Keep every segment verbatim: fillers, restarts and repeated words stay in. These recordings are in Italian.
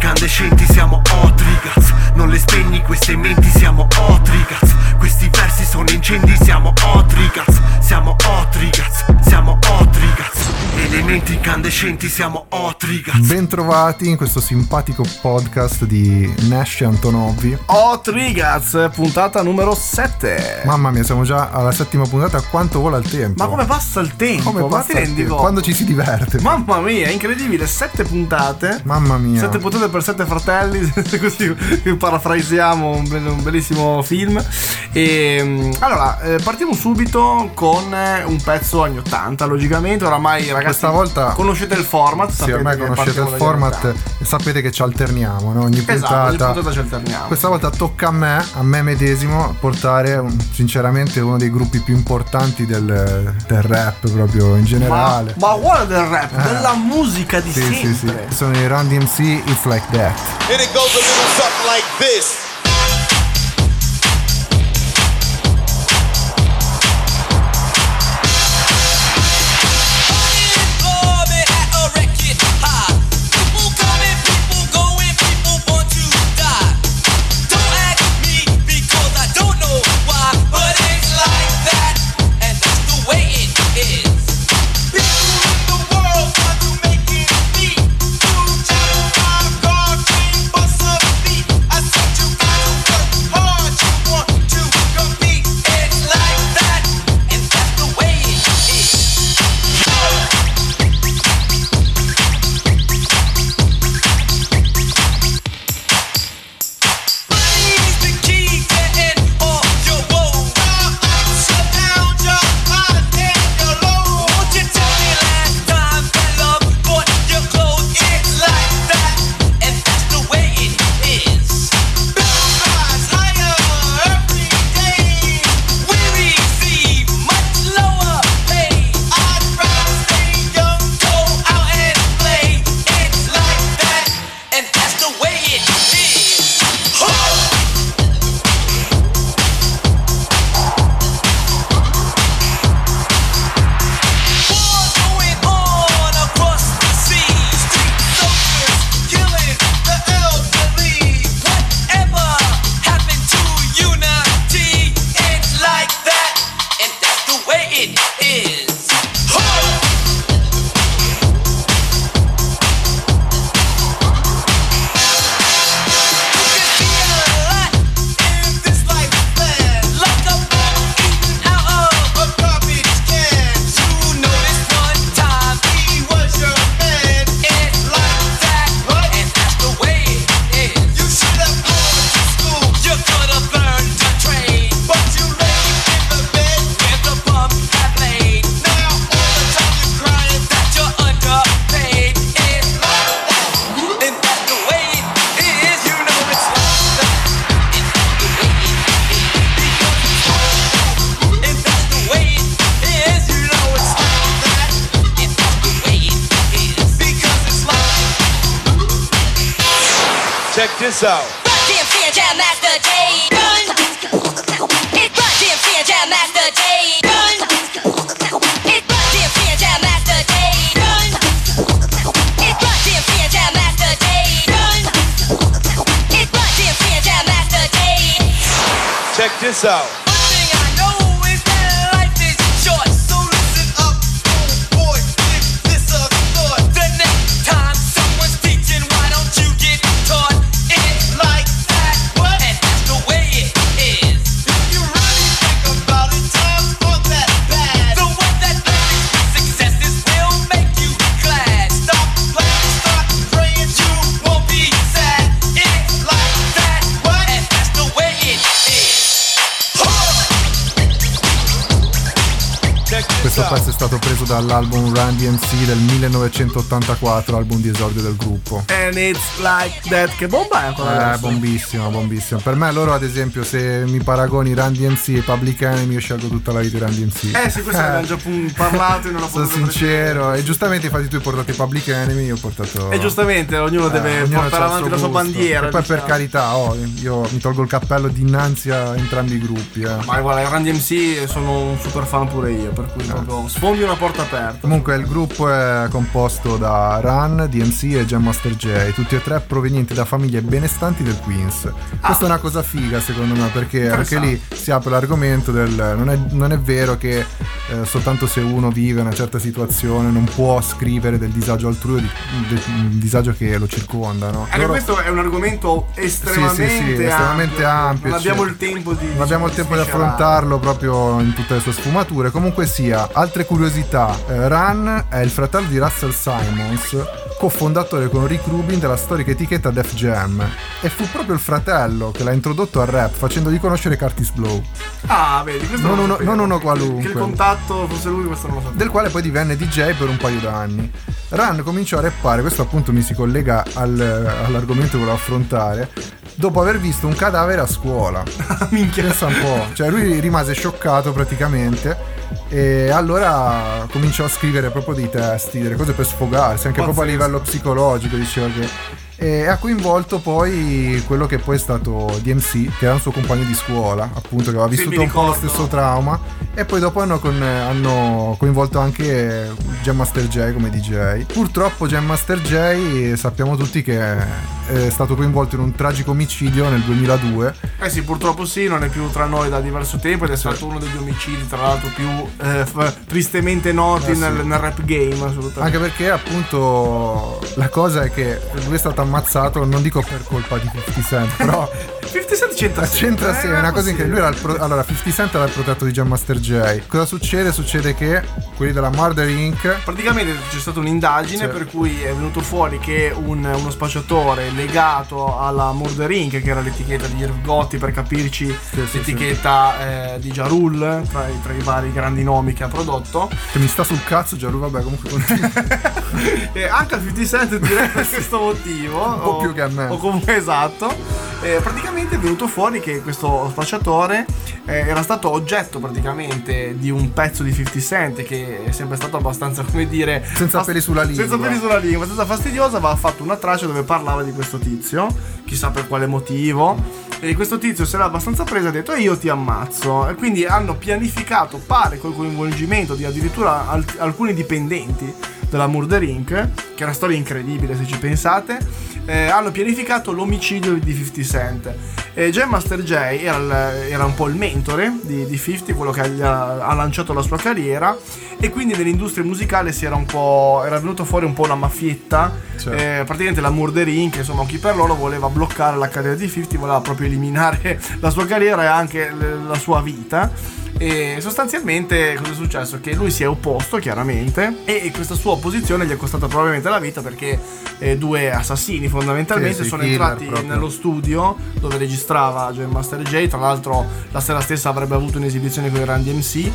incandescenti, siamo hot ragazzi. Non le spegni queste menti, siamo hot ragazzi. Questi versi sono incendi, siamo hot ragazzi. Siamo hot ragazzi, siamo hot ragazzi. Elementi incandescenti, siamo hot ragazzi. Bentrovati in questo simpatico podcast di Nash e Antonovi. Hot ragazzi, puntata numero sette. Mamma mia, siamo già alla settima puntata. Quanto vola il tempo? Ma come passa il tempo? Come Ma passa ti rendi il conto? Quando ci si diverte. Mamma mia, è incredibile. Sette puntate. Mamma mia. Sette puntate per sette fratelli. Così parafrasiamo un, be- un bellissimo film. E allora eh, partiamo subito con un pezzo anni ottanta. Logicamente, oramai ragazzi, questa volta conoscete il format. Sì, ormai conoscete il format e sapete che ci alterniamo, no? Ogni esatto, puntata, ogni puntata ci alterniamo. Questa volta tocca a me, a me medesimo, portare un, sinceramente uno dei gruppi più importanti del, del rap proprio in generale. Ma, ma guarda del rap, eh. della musica di sì, sempre. Sì, sì. Sono i Run D M C, It's Like That. And it goes a little something like this. Check this out. Run D M C and Jam Master Jay. Run. It's Run D M C and Jam Master Jay. Run. It's Run D M C and Jam Master Jay. Run. It's Run D M C and Jam Master Jay. Run. It's Run D M C and Jam Master Jay. Check this out. One thing I know is that life is short, so listen up, oh boy, give this a thought. The next time someone's teaching, why don't you get taught? It's like that, what? And that's the way it is. If you really think about it, times aren't that bad. The one that thinks successes will make you glad. Stop playing, start praying, you won't be sad. It's like that, what? And that's the way it is. Questo pezzo è stato preso dall'album Run D M C del millenovecentottantaquattro, album di esordio del gruppo. And it's like that. Che bomba è ancora Eh, adesso? bombissimo, bombissimo. Per me loro, ad esempio, se mi paragoni Run D M C e Public Enemy, io scelgo tutta la vita Run D M C. Eh sì, questo ne abbiamo già pun- parlato in una Sono puntata sincero. E giustamente, infatti, tu hai portato i Public Enemy, io ho portato. E giustamente ognuno Eh, deve ognuno portare c'ha il avanti suo la sua gusto. bandiera. E poi, per diciamo. carità, oh, io mi tolgo il cappello dinanzi a entrambi i gruppi. Eh. Ma guarda, i Run D M C sono un super fan pure io, per cui proprio proprio sfondi una porta aperta. Comunque il gruppo è composto da Run, D M C e Jam Master Jay, tutti e tre provenienti da famiglie benestanti del Queens. Questa è una cosa figa secondo me, perché anche lì si apre l'argomento del non è, non è vero che eh, soltanto se uno vive una certa situazione non può scrivere del disagio altrui o di, del disagio che lo circonda, no? Anche Loro... questo è un argomento estremamente, sì, sì, sì, estremamente ampio, non abbiamo cioè, il tempo di non abbiamo il tempo di affrontarlo proprio in tutte le sue sfumature. Comunque sia, altre curiosità, eh, Run è il fratello di Russell Simmons, cofondatore con Rick Rubin della storica etichetta Def Jam, e fu proprio il fratello che l'ha introdotto al rap facendogli conoscere Curtis Blow. Ah, vedi, questo non, non uno, sapevo. non uno qualunque, Che il contatto fosse lui, questo non lo sapevo. Del quale poi divenne D J per un paio d'anni. Run cominciò a rappare, questo appunto mi si collega al, all'argomento che volevo affrontare, dopo aver visto un cadavere a scuola. Minchia. Pensa un po', cioè lui rimase scioccato praticamente, e allora cominciò a scrivere proprio dei testi, delle cose per sfogarsi, anche Pazzesco. proprio a livello psicologico, diceva che... E ha coinvolto poi quello che poi è stato D M C, che era un suo compagno di scuola, appunto, che aveva Sì, vissuto mi un po' lo ricordo. stesso trauma, e poi dopo hanno, con, hanno coinvolto anche Jam Master Jay come D J. Purtroppo Jam Master Jay sappiamo tutti che è stato coinvolto in un tragico omicidio nel duemiladue. Eh sì, purtroppo sì, non è più tra noi da diverso tempo ed è stato uno degli omicidi, tra l'altro, più eh, f- tristemente noti Eh sì. nel, nel rap game, assolutamente. Anche perché appunto la cosa è che lui è stato ammazzato, non dico per colpa di cinquanta Cent, però cinquanta Cent c'entra c'entra sempre, sì, eh, è una cosa sì. incredibile. Lui era il pro- allora cinquanta Cent era il protetto di Jam Master Jay. Cosa succede? Succede che quelli della Murder Incorporated Praticamente c'è stata un'indagine Sì. per cui è venuto fuori che un- uno spacciatore legato alla Murder Incorporated, che era l'etichetta di Irv Gotti, per capirci, Sì, sì, l'etichetta eh, di Ja Rule, tra i, tra i vari grandi nomi che ha prodotto. che mi sta sul cazzo già lui, vabbè, comunque continua. E anche a cinquanta Cent direi per questo motivo, un po' più che a me. o comunque esatto. Eh, praticamente è venuto fuori che questo spacciatore eh, era stato oggetto praticamente di un pezzo di cinquanta Cent, che è sempre stato abbastanza, come dire, Senza peli sulla lingua. senza peli sulla lingua, abbastanza fastidiosa. Aveva fatto una traccia dove parlava di questo tizio, chissà per quale motivo, e questo tizio se l'ha abbastanza presa e ha detto: e io ti ammazzo. E quindi hanno pianificato, pare col coinvolgimento di addirittura al- alcuni dipendenti della Murder Incorporated, che è una storia incredibile se ci pensate. Eh, hanno pianificato l'omicidio di cinquanta Cent. E Jam Master Jay era, il- era un po' il mentore di, di cinquanta, quello che gli ha, ha lanciato la sua carriera, e quindi nell'industria musicale si era un po', era venuto fuori un po' una maffietta. Certo. Eh, praticamente la Murder Incorporated, insomma, chi per loro voleva bloccare la carriera di cinquanta, voleva proprio eliminare la sua carriera e anche l- la sua vita. E sostanzialmente cosa è successo? Che lui si è opposto, chiaramente, e questa sua opposizione gli è costata probabilmente la vita, perché eh, due assassini fondamentalmente Sì, sì, sono killer entrati proprio. nello studio dove registrava Jam Master Jay. Tra l'altro la sera stessa avrebbe avuto un'esibizione con i Run D M C,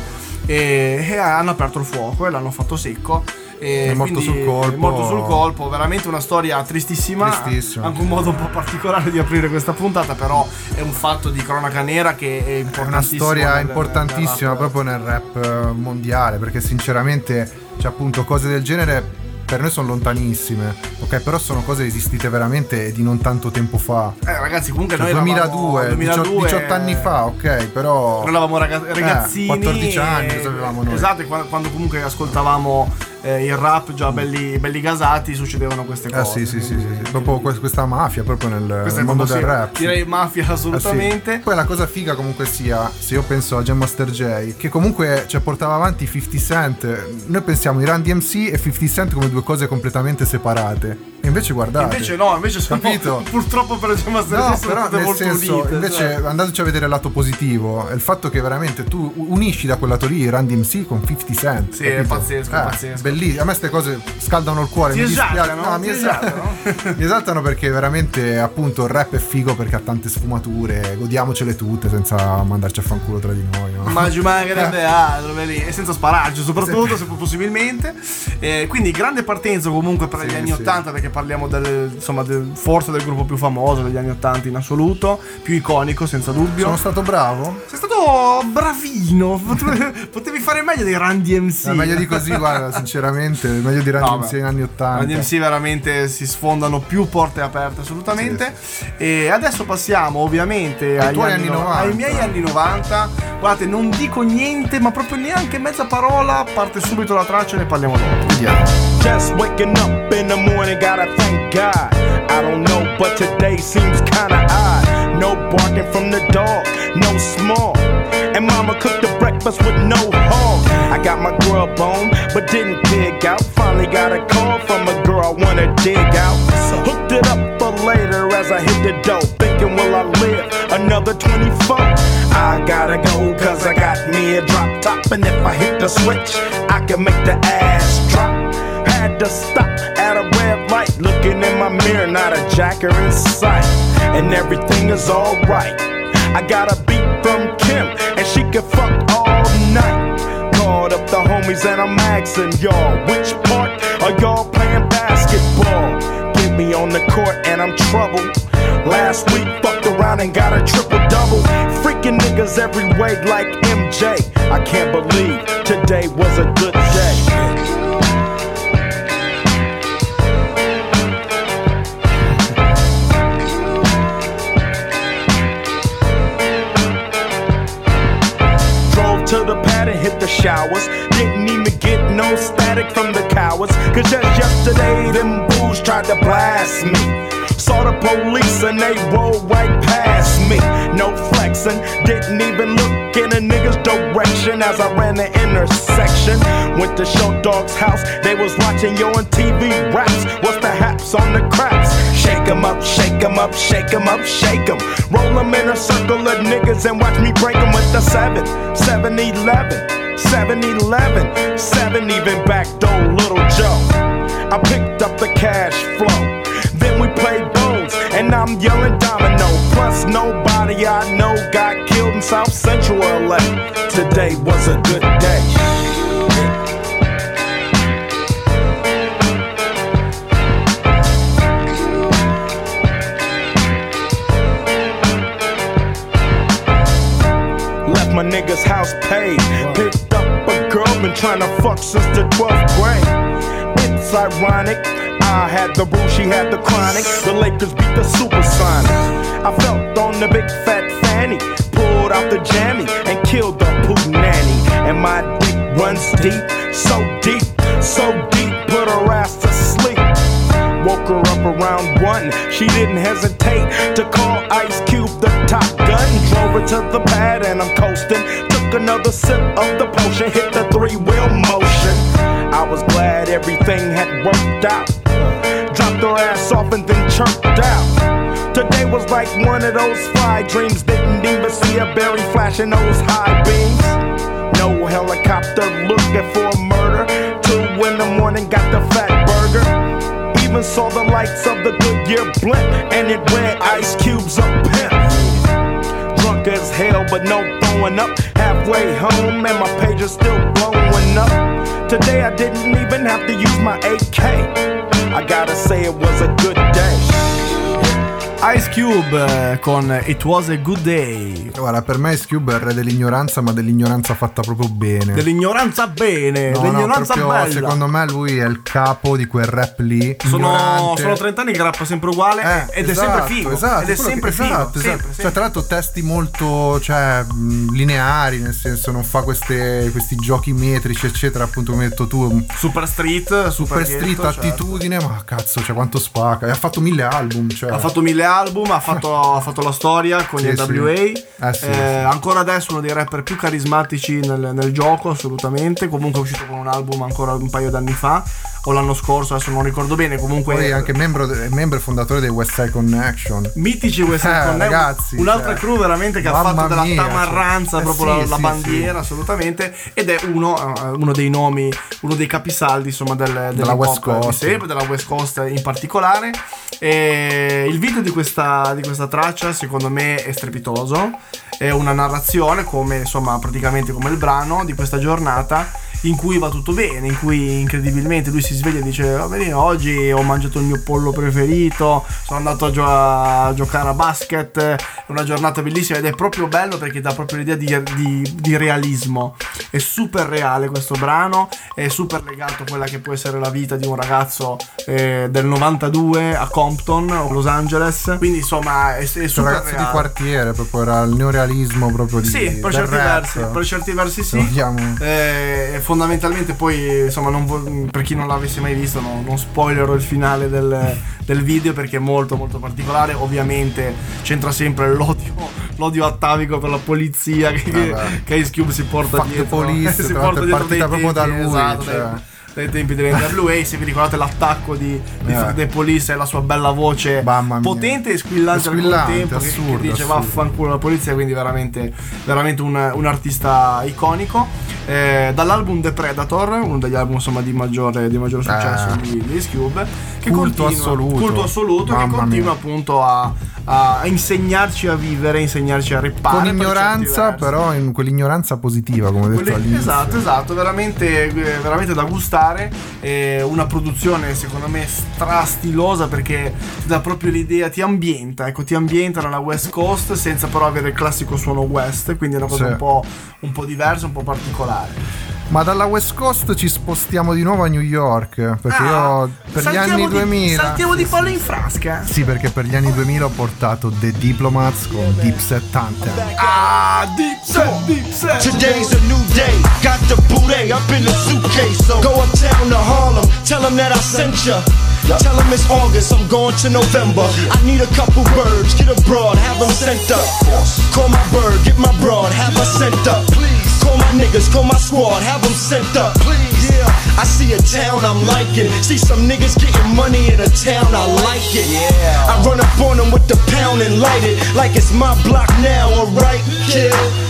e, e hanno aperto il fuoco e l'hanno fatto secco. E È morto quindi sul colpo. è morto sul colpo, veramente una storia tristissima. Tristissima. Anche un modo un po' particolare di aprire questa puntata, però è un fatto di cronaca nera che è È una importantissimo. storia nel- importantissima nel rap. proprio nel rap eh, mondiale, perché sinceramente, cioè, appunto, cose del genere per noi sono lontanissime, ok, però sono cose esistite veramente di non tanto tempo fa. Eh ragazzi, comunque Cioè, noi duemiladue, eravamo duemiladue, diciotto anni fa, ok, però Noi eravamo raga- ragazzini, quattordici anni, e- cosa avevamo noi? Esatto, e quando, quando comunque ascoltavamo eh, il rap già belli, belli gasati, succedevano queste Ah cose. sì sì sì, sì, sì. Proprio que- questa mafia proprio nel, Questa nel è mondo proprio, del sì, rap. direi mafia Ah, sì. assolutamente. Poi la cosa figa comunque sia, se io penso a Jam Master Jay, che comunque, cioè, portava avanti cinquanta Cent, noi pensiamo i Run D M C e cinquanta Cent come due cose completamente separate, e invece guardate, Invece no, invece sono Capito? purtroppo per Jam Master no, Jay sono però tutte nel molto senso, unite. invece cioè. andateci a vedere il lato positivo, è il fatto che veramente tu unisci da quel lato lì Run D M C con cinquanta Cent. Sì, è capito? pazzesco, è Eh, pazzesco. bellissimo. A me queste cose scaldano il cuore, Ti mi dispiace. esaltano, No, mi ti esaltano. esaltano. Mi esaltano perché veramente, appunto, il rap è figo perché ha tante sfumature, godiamocele tutte senza mandarci a fanculo tra di noi, no? Ma ci mancherebbe altro, vedi? E senza spararci, soprattutto, se possibilmente. Eh, quindi grande partenza comunque per Sì, gli anni sì. ottanta, perché parliamo del, insomma, del, forse del gruppo più famoso degli anni ottanta in assoluto, più iconico senza dubbio. Sono stato bravo? Sei stato bravino, potevi, potevi fare meglio dei Run D M C. È meglio di così, guarda, sinceramente, meglio di Run No, D M C beh, in anni ottanta. Run D M C veramente si sfondano più porte aperte assolutamente. Sì, E adesso passiamo ovviamente agli tuoi anni no- novanta. ai miei anni novanta. Guardate, non dico niente, ma proprio neanche mezza parola, parte subito la traccia e ne parliamo dopo. Vediamo. Just waking up in the morning, gotta thank God. I don't know, but today seems kinda odd. No barking from the dog, no small. And mama cooked the breakfast with no hog. I got my grub on, but didn't pig out. Finally got a call from a girl I wanna dig out. Hooked it up for later as I hit the dough. Thinking, will I live another twenty-four? I gotta go, cause I got me a drop top. And if I hit the switch, I can make the ass drop. Had to stop at a red light, looking in my mirror, not a jacker in sight. And everything is alright. I got a beat from Kim, and she can fuck all night. Called up the homies and I'm asking y'all, which part are y'all playing basketball? Get me on the court and I'm troubled. Last week fucked around and got a triple-double. Freaking niggas every way like M J. I can't believe today was a good day. To the pad and hit the showers. Didn't even get no static from the cowards. Cause just yesterday them fools tried to blast me. Saw the police and they rolled right past me. No flexing, didn't even look in a nigga's direction as I ran the intersection. Went to Show Dog's house, they was watching yo on T V raps. What's the haps on the craps? Shake 'em up, shake 'em up, shake 'em up, shake 'em. Roll 'em in a circle of niggas and watch me break 'em with the seven, seven eleven, seven eleven, seven even backdoor Little Joe. I picked up the cash flow. Then we played bones, and I'm yelling domino. Plus nobody I know got killed in South Central L A. Today was a good day. Left my nigga's house paid. Picked up a girl, been trying to fuck since the twelfth grade. It's ironic, I had the rule, she had the chronic. The Lakers beat the Supersonics. I felt on the big fat fanny, pulled out the jammy and killed the poo nanny. And my dick runs deep, so deep, so deep, put her ass to sleep. Woke her up around one, she didn't hesitate to call Ice Cube the top gun. Drove her to the pad and I'm coasting. Took another sip of the potion, hit the three-wheel motion. I was glad everything had worked out. Dropped her ass off and then chirped out. Today was like one of those fly dreams. Didn't even see a berry flashing those high beams. No helicopter looking for a murder. Two in the morning got the fat burger. Even saw the lights of the Goodyear blimp, and it read Ice Cube's a pimp. Drunk as hell, but no throwing up. Halfway home, and my page is still blowing up. Today I didn't even have to use my A K. I gotta say it was a good day. Ice Cube eh, con It Was a Good Day. Guarda, per me Ice Cube è il re dell'ignoranza, ma dell'ignoranza fatta proprio bene. Dell'ignoranza bene, No, dell'ignoranza no, proprio, bella. secondo me lui è il capo di quel rap lì. Sono, ignorante. sono trenta anni che rappa sempre uguale Eh, ed esatto, è sempre figo. esatto, ed è quello sempre che- figo. esatto, sempre, esatto. sempre. Cioè, tra l'altro testi molto, cioè, mh, lineari, nel senso non fa queste, questi giochi metrici, eccetera, appunto come hai detto tu. Super Street, Super ghetto, street, certo. attitudine, ma cazzo, cioè quanto spacca. E ha fatto mille album, cioè. Ha fatto mille album, ha fatto, ha fatto la storia con Sì, gli N W A. sì. Eh, sì, Eh, sì. Ancora adesso uno dei rapper più carismatici nel, nel gioco, assolutamente. Comunque è uscito con un album ancora un paio d'anni fa, o l'anno scorso, adesso non ricordo bene. Comunque Poi anche membro, membro e fondatore dei West Side Connection. mitici West Side Eh, Connection, ragazzi, un'altra cioè, crew veramente che ha mamma fatto della mia, tamarranza cioè, eh, proprio sì, la, la sì, bandiera, assolutamente, ed è uno, eh, uno dei nomi, uno dei capisaldi insomma del, Della West dell'hip hop di Coast. sempre, della West Coast in particolare. E il video di questa, di questa traccia secondo me è strepitoso, è una narrazione come insomma praticamente come il brano di questa giornata, in cui va tutto bene, in cui incredibilmente lui si sveglia e dice va bene, oggi ho mangiato il mio pollo preferito, sono andato a, gio- a giocare a basket, è una giornata bellissima, ed è proprio bello perché dà proprio l'idea di, di, di realismo. È super reale questo brano, è super legato a quella che può essere la vita di un ragazzo eh, del novantadue a Compton o Los Angeles, quindi insomma è, è super Sono ragazzi reale. di quartiere, proprio era il neorealismo proprio di Sì, per del certi, rap. versi, per certi versi sì. Vogliamo- Eh, fondamentalmente poi insomma non vo- per chi non l'avesse mai visto no, non spoilerò il finale del, del video perché è molto molto particolare. Ovviamente c'entra sempre l'odio, l'odio atavico per la polizia che, Vabbè. che Ice Cube si porta Fuck the dietro police, si tra porta l'altro è dietro partita dai proprio da tempi, lui, esatto, cioè. dai, dai tempi dell'N W A. Se vi ricordate l'attacco di, di Eh. Fuck the Police e la sua bella voce Mamma mia. potente e squillante, È squillante, al contempo che- assurdo, che dice assurdo. vaffanculo la polizia, quindi veramente veramente un, un artista iconico. Eh, dall'album The Predator, uno degli album insomma di maggiore, di maggiore successo Eh. di, di Ice Cube, che Culto continua, assoluto. culto assoluto che Mamma continua mia. appunto a, a insegnarci a vivere, insegnarci a reppare Con per ignoranza, certi versi. però in quell'ignoranza positiva, come ho detto Quelli- all'inizio. esatto, esatto, veramente, eh, veramente da gustare. Eh, una produzione secondo me strastilosa perché ti dà proprio l'idea, ti ambienta, ecco, ti ambienta nella West Coast senza però avere il classico suono West, quindi è una cosa Sì. un po', un po' diversa, un po' particolare. Ma dalla West Coast ci spostiamo di nuovo a New York, perché Ah, io per gli saltiamo anni di- duemila saltiamo di palla in frasca. Sì, perché per gli anni duemila ho portato The Diplomats con Dipset Anthem. Ah, deep set, deep set. Today's a new day, got the booty up in the suitcase. So go uptown to Harlem, tell them that I sent ya. Tell them it's August, I'm going to November. I need a couple birds, get a broad, have them sent up. Call my bird, get my broad, have her sent up. Call my niggas, call my squad, have them sent up. Yeah, I see a town I'm liking. See some niggas getting money in a town, I like it. Yeah. I run up on them with the pound and light it like it's my block now, alright, kid.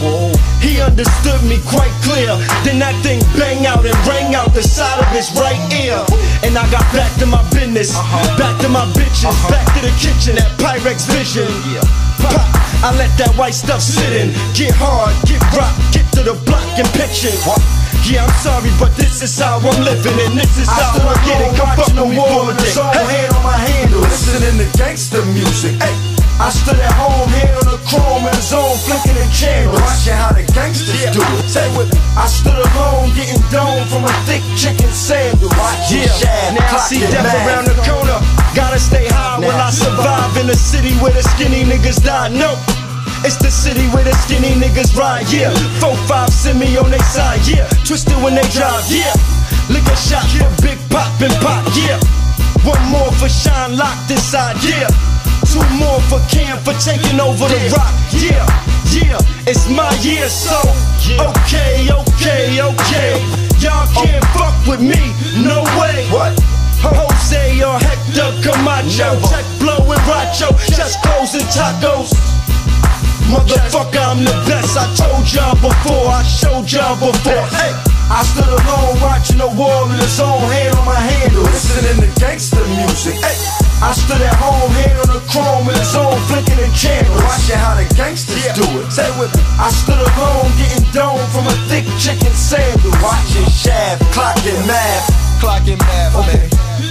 He understood me quite clear. Then that thing bang out and rang out the side of his right ear. And I got back to my business, back to my bitches, back to the kitchen at Pyrex Vision. Pop, I let that white stuff sit in. Get hard, get rock, get to the block and pitch it. Yeah, I'm sorry, but this is how I'm living, and this is how I get it. Come fuck with me for a day. Hey, hand on my handle, listening to gangster music. Hey, I stood at home, hand on the chrome in the zone, flicking the channels, watching how the gangsters do it. Say with me, I stood alone, getting domed from a thick chicken sandwich. Yeah, now I see death around the corner. Gotta stay high while I survive in a city where the skinny niggas die. No. It's the city where the skinny niggas ride, yeah. Four, five, send me on they side, yeah. Twisted when they drive, yeah. Lick a shot for Big Pop and Pop, yeah. One more for Shine locked inside, yeah. Two more for Cam for taking over the rock, yeah. Yeah, it's my year, so okay, okay, okay. Y'all can't fuck with me, no way. What? Jose or Hector Camacho, Tech Blow and Racho, just clothes and tacos. Motherfucker, I'm the best. I told y'all before, I showed y'all before. Hey, I stood alone watching the war in the zone, hand on my handle, listening to gangster music. Hey, I stood at home, hand on the chrome in the zone, flicking the channels, watching how the gangsters do it. Say with me, I stood alone, getting domed from a thick chicken sandwich, watching Shaft, clocking math, clocking math. Okay,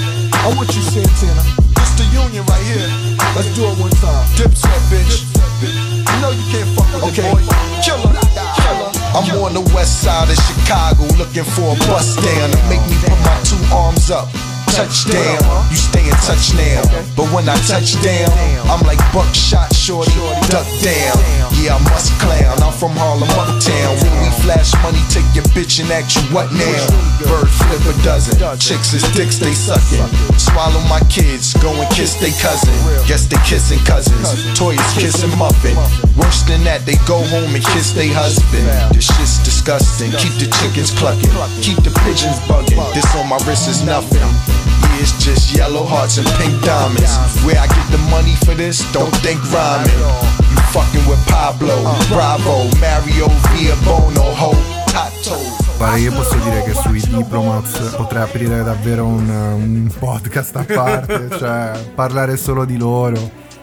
I want you, Santana. It's the union right here. Let's do it one time. Dipset, bitch. You know you can't fuck with Okay. it, boy. Killer, killer. I'm on the west side of Chicago looking for a bus down to make me put my two arms up. Touchdown, you stay in touch now. But when I touch down, I'm like buckshot shorty, duck down. Yeah, I must clown. I'm from Harlem, uptown. When we flash money, take your bitch and ask you what now. Bird flip a dozen, chicks is dicks they sucking. Swallow my kids, go and kiss they cousin. Guess they kissing cousins. Toys kissing muffin. Worse than that, they go home and kiss they husband. This shit's disgusting. Keep the chickens clucking, keep the pigeons bugging. This on my wrist is nothing. Yeah, it's just yellow hearts and pink diamonds. Where I get the money for this, don't think rhyming. You fucking with Pablo, Bravo, Mario, Via Bono, Ho, Tato. Pare io posso dire che sui Diplomats potrei aprire davvero un, un podcast a parte, cioè parlare solo di loro.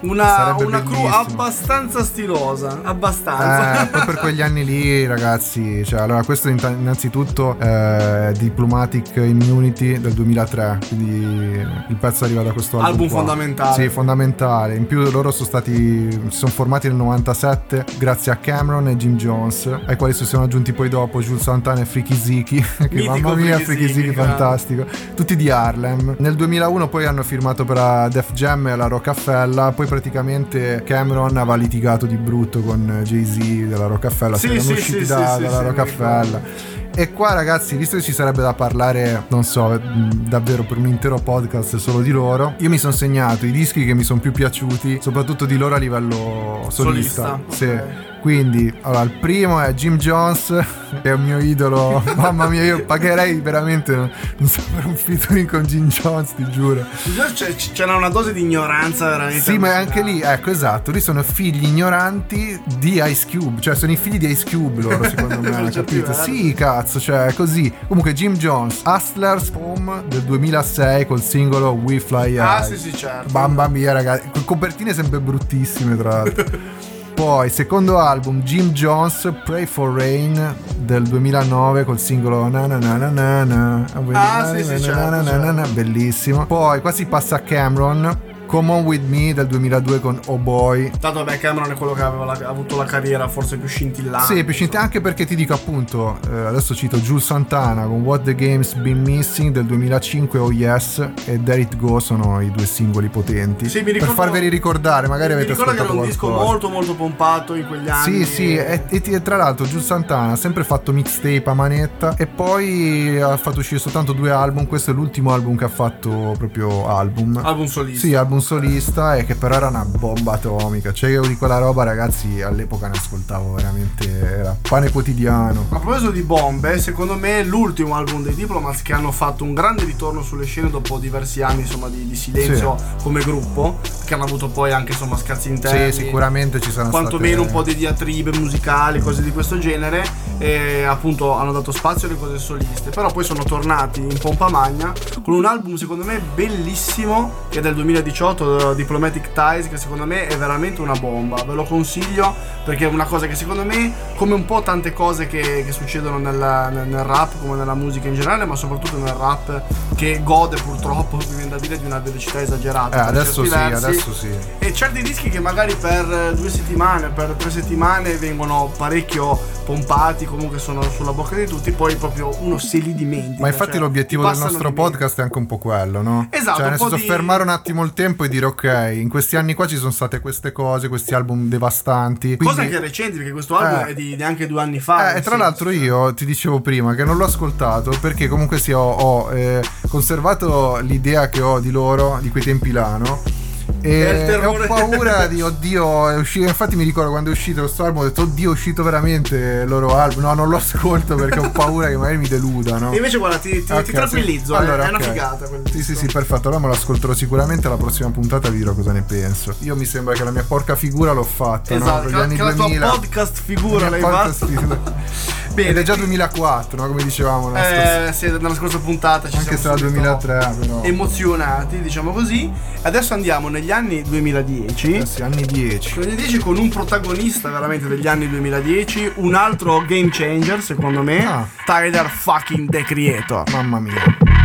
Una, Sarebbe una crew bellissimo. abbastanza stilosa, abbastanza. Eh, poi per quegli anni lì, ragazzi, cioè, allora questo inta- innanzitutto è Diplomatic Immunity del duemilatré, quindi il pezzo arriva da questo album Album qua. fondamentale. Sì, fondamentale. In più loro sono stati si sono formati nel novantasette grazie a Cameron e Jim Jones, ai quali si sono aggiunti poi dopo Jules Santana e Freaky Ziki, che Mitico mamma mia, Freaky Freaky Ziki, Ziki grande. fantastico, tutti di Harlem. Nel duemilauno poi hanno firmato per la Def Jam e la Rockefeller, poi praticamente Cameron aveva litigato di brutto con Jay-Z della Rockefeller, Sì, si erano sì, usciti sì, da- sì, dalla sì, Rockefeller. E qua, ragazzi, visto che ci sarebbe da parlare, non so, mh, davvero per un intero podcast solo di loro, io mi sono segnato i dischi che mi sono più piaciuti, soprattutto di loro a livello solista. Solista, Sì. ok. Quindi, allora, il primo è Jim Jones, che è un mio idolo. Mamma mia, io pagherei veramente, non so, per un featuring con Jim Jones, ti giuro. C'è- C'era una dose di ignoranza veramente. Sì, ma anche lì, ecco, esatto, lì sono figli ignoranti di Ice Cube, cioè sono i figli di Ice Cube loro, secondo me, Per certi capito? versi. Sì, cazzo, cioè, è così. Comunque Jim Jones, Hustlers Home del duemilasei col singolo We Fly High. Ah, sì, sì, certo. Mamma mia, ragazzi, con copertine sempre bruttissime, tra l'altro. Poi, secondo album, Jim Jones, Pray for Rain del duemilanove col singolo na na na na na na. Ah, sì, sì, certo, Na na na na na, certo. bellissimo. Poi qua si passa a Cameron, Come On With Me del duemiladue con Oh Boy. Tanto vabbè, Cameron è quello che aveva la- ha avuto la carriera forse più scintillante. Sì, più scintillante, anche perché ti dico appunto, eh, adesso cito Jules Santana con What the Game's Been Missing del duemilacinque, Oh Yes e There It Go sono i due singoli potenti. Sì, mi ricordo- per farveli ricordare, magari Mi avete ricordo che era ascoltato un disco qualcosa. molto molto pompato in quegli anni. Sì, sì, e, e- e tra l'altro Jules Santana ha sempre fatto mixtape a manetta e poi ha fatto uscire soltanto due album. Questo è l'ultimo album che ha fatto proprio album. Album solista. Sì, album solista, e che però era una bomba atomica. Cioè io di quella roba, ragazzi, all'epoca ne ascoltavo veramente, era pane quotidiano. Ma a proposito di bombe, secondo me l'ultimo album dei Diplomats, che hanno fatto un grande ritorno sulle scene dopo diversi anni insomma di, di silenzio come gruppo, che hanno avuto poi anche insomma scazzi interni. Sì, sicuramente ci saranno quantomeno state... un po' di diatribe musicali, cose di questo genere, e appunto hanno dato spazio alle cose soliste. Però poi sono tornati in pompa magna con un album secondo me bellissimo, che è del duemiladiciotto, Diplomatic Ties, che secondo me è veramente una bomba. Ve lo consiglio perché è una cosa che secondo me, come un po' tante cose che, che succedono nel, nel, nel rap, come nella musica in generale, ma soprattutto nel rap, che gode purtroppo, mi viene da dire, di una velocità esagerata. Eh, per adesso certi sì, versi. adesso sì. E certi dischi che magari per due settimane, per tre settimane vengono parecchio pompati, comunque sono sulla bocca di tutti, poi proprio uno se li dimentica. Ma infatti cioè, l'obiettivo ti del passano nostro di meno. podcast è anche un po' quello, no? Esatto, Cioè un nel po' senso di- fermare un attimo il tempo e dire ok, in questi anni qua ci sono state queste cose, questi album devastanti. Quindi... Cosa anche recenti, perché questo album Eh. è di neanche due anni fa. Eh, e tra sì. l'altro io ti dicevo prima che non l'ho ascoltato perché comunque sì, ho, ho, eh, conservato l'idea che ho di loro, di quei tempi là, no? È il E, e ho terrore. paura di oddio, è uscito. Infatti mi ricordo quando è uscito questo album, ho detto oddio, è uscito veramente il loro album. No, non lo ascolto perché ho paura che magari mi deluda, no? E invece guarda, ti, ti, Ok, ti tranquillizzo, sì. eh, Allora, è una ok. figata quel Sì, sì, disco. sì, perfetto. Allora me lo ascolterò sicuramente. Alla prossima puntata vi dirò cosa ne penso. Io mi sembra che la mia porca figura l'ho fatta, no? Esatto, Per gli che, anni che la tua duemila. podcast figura La l'hai mia podcast fatta. figura. Bene, Ed è già ti- duemilaquattro, no? Come dicevamo nella scorsa- Eh, sì, nella scorsa puntata ci Anche se siamo era subito duemilatré, però. emozionati, diciamo così. Adesso andiamo negli anni duemiladieci. Eh sì, anni dieci. duemiladieci con un protagonista veramente degli anni duemiladieci, un altro game changer secondo me, Ah. Tyler fucking The Creator. Mamma mia.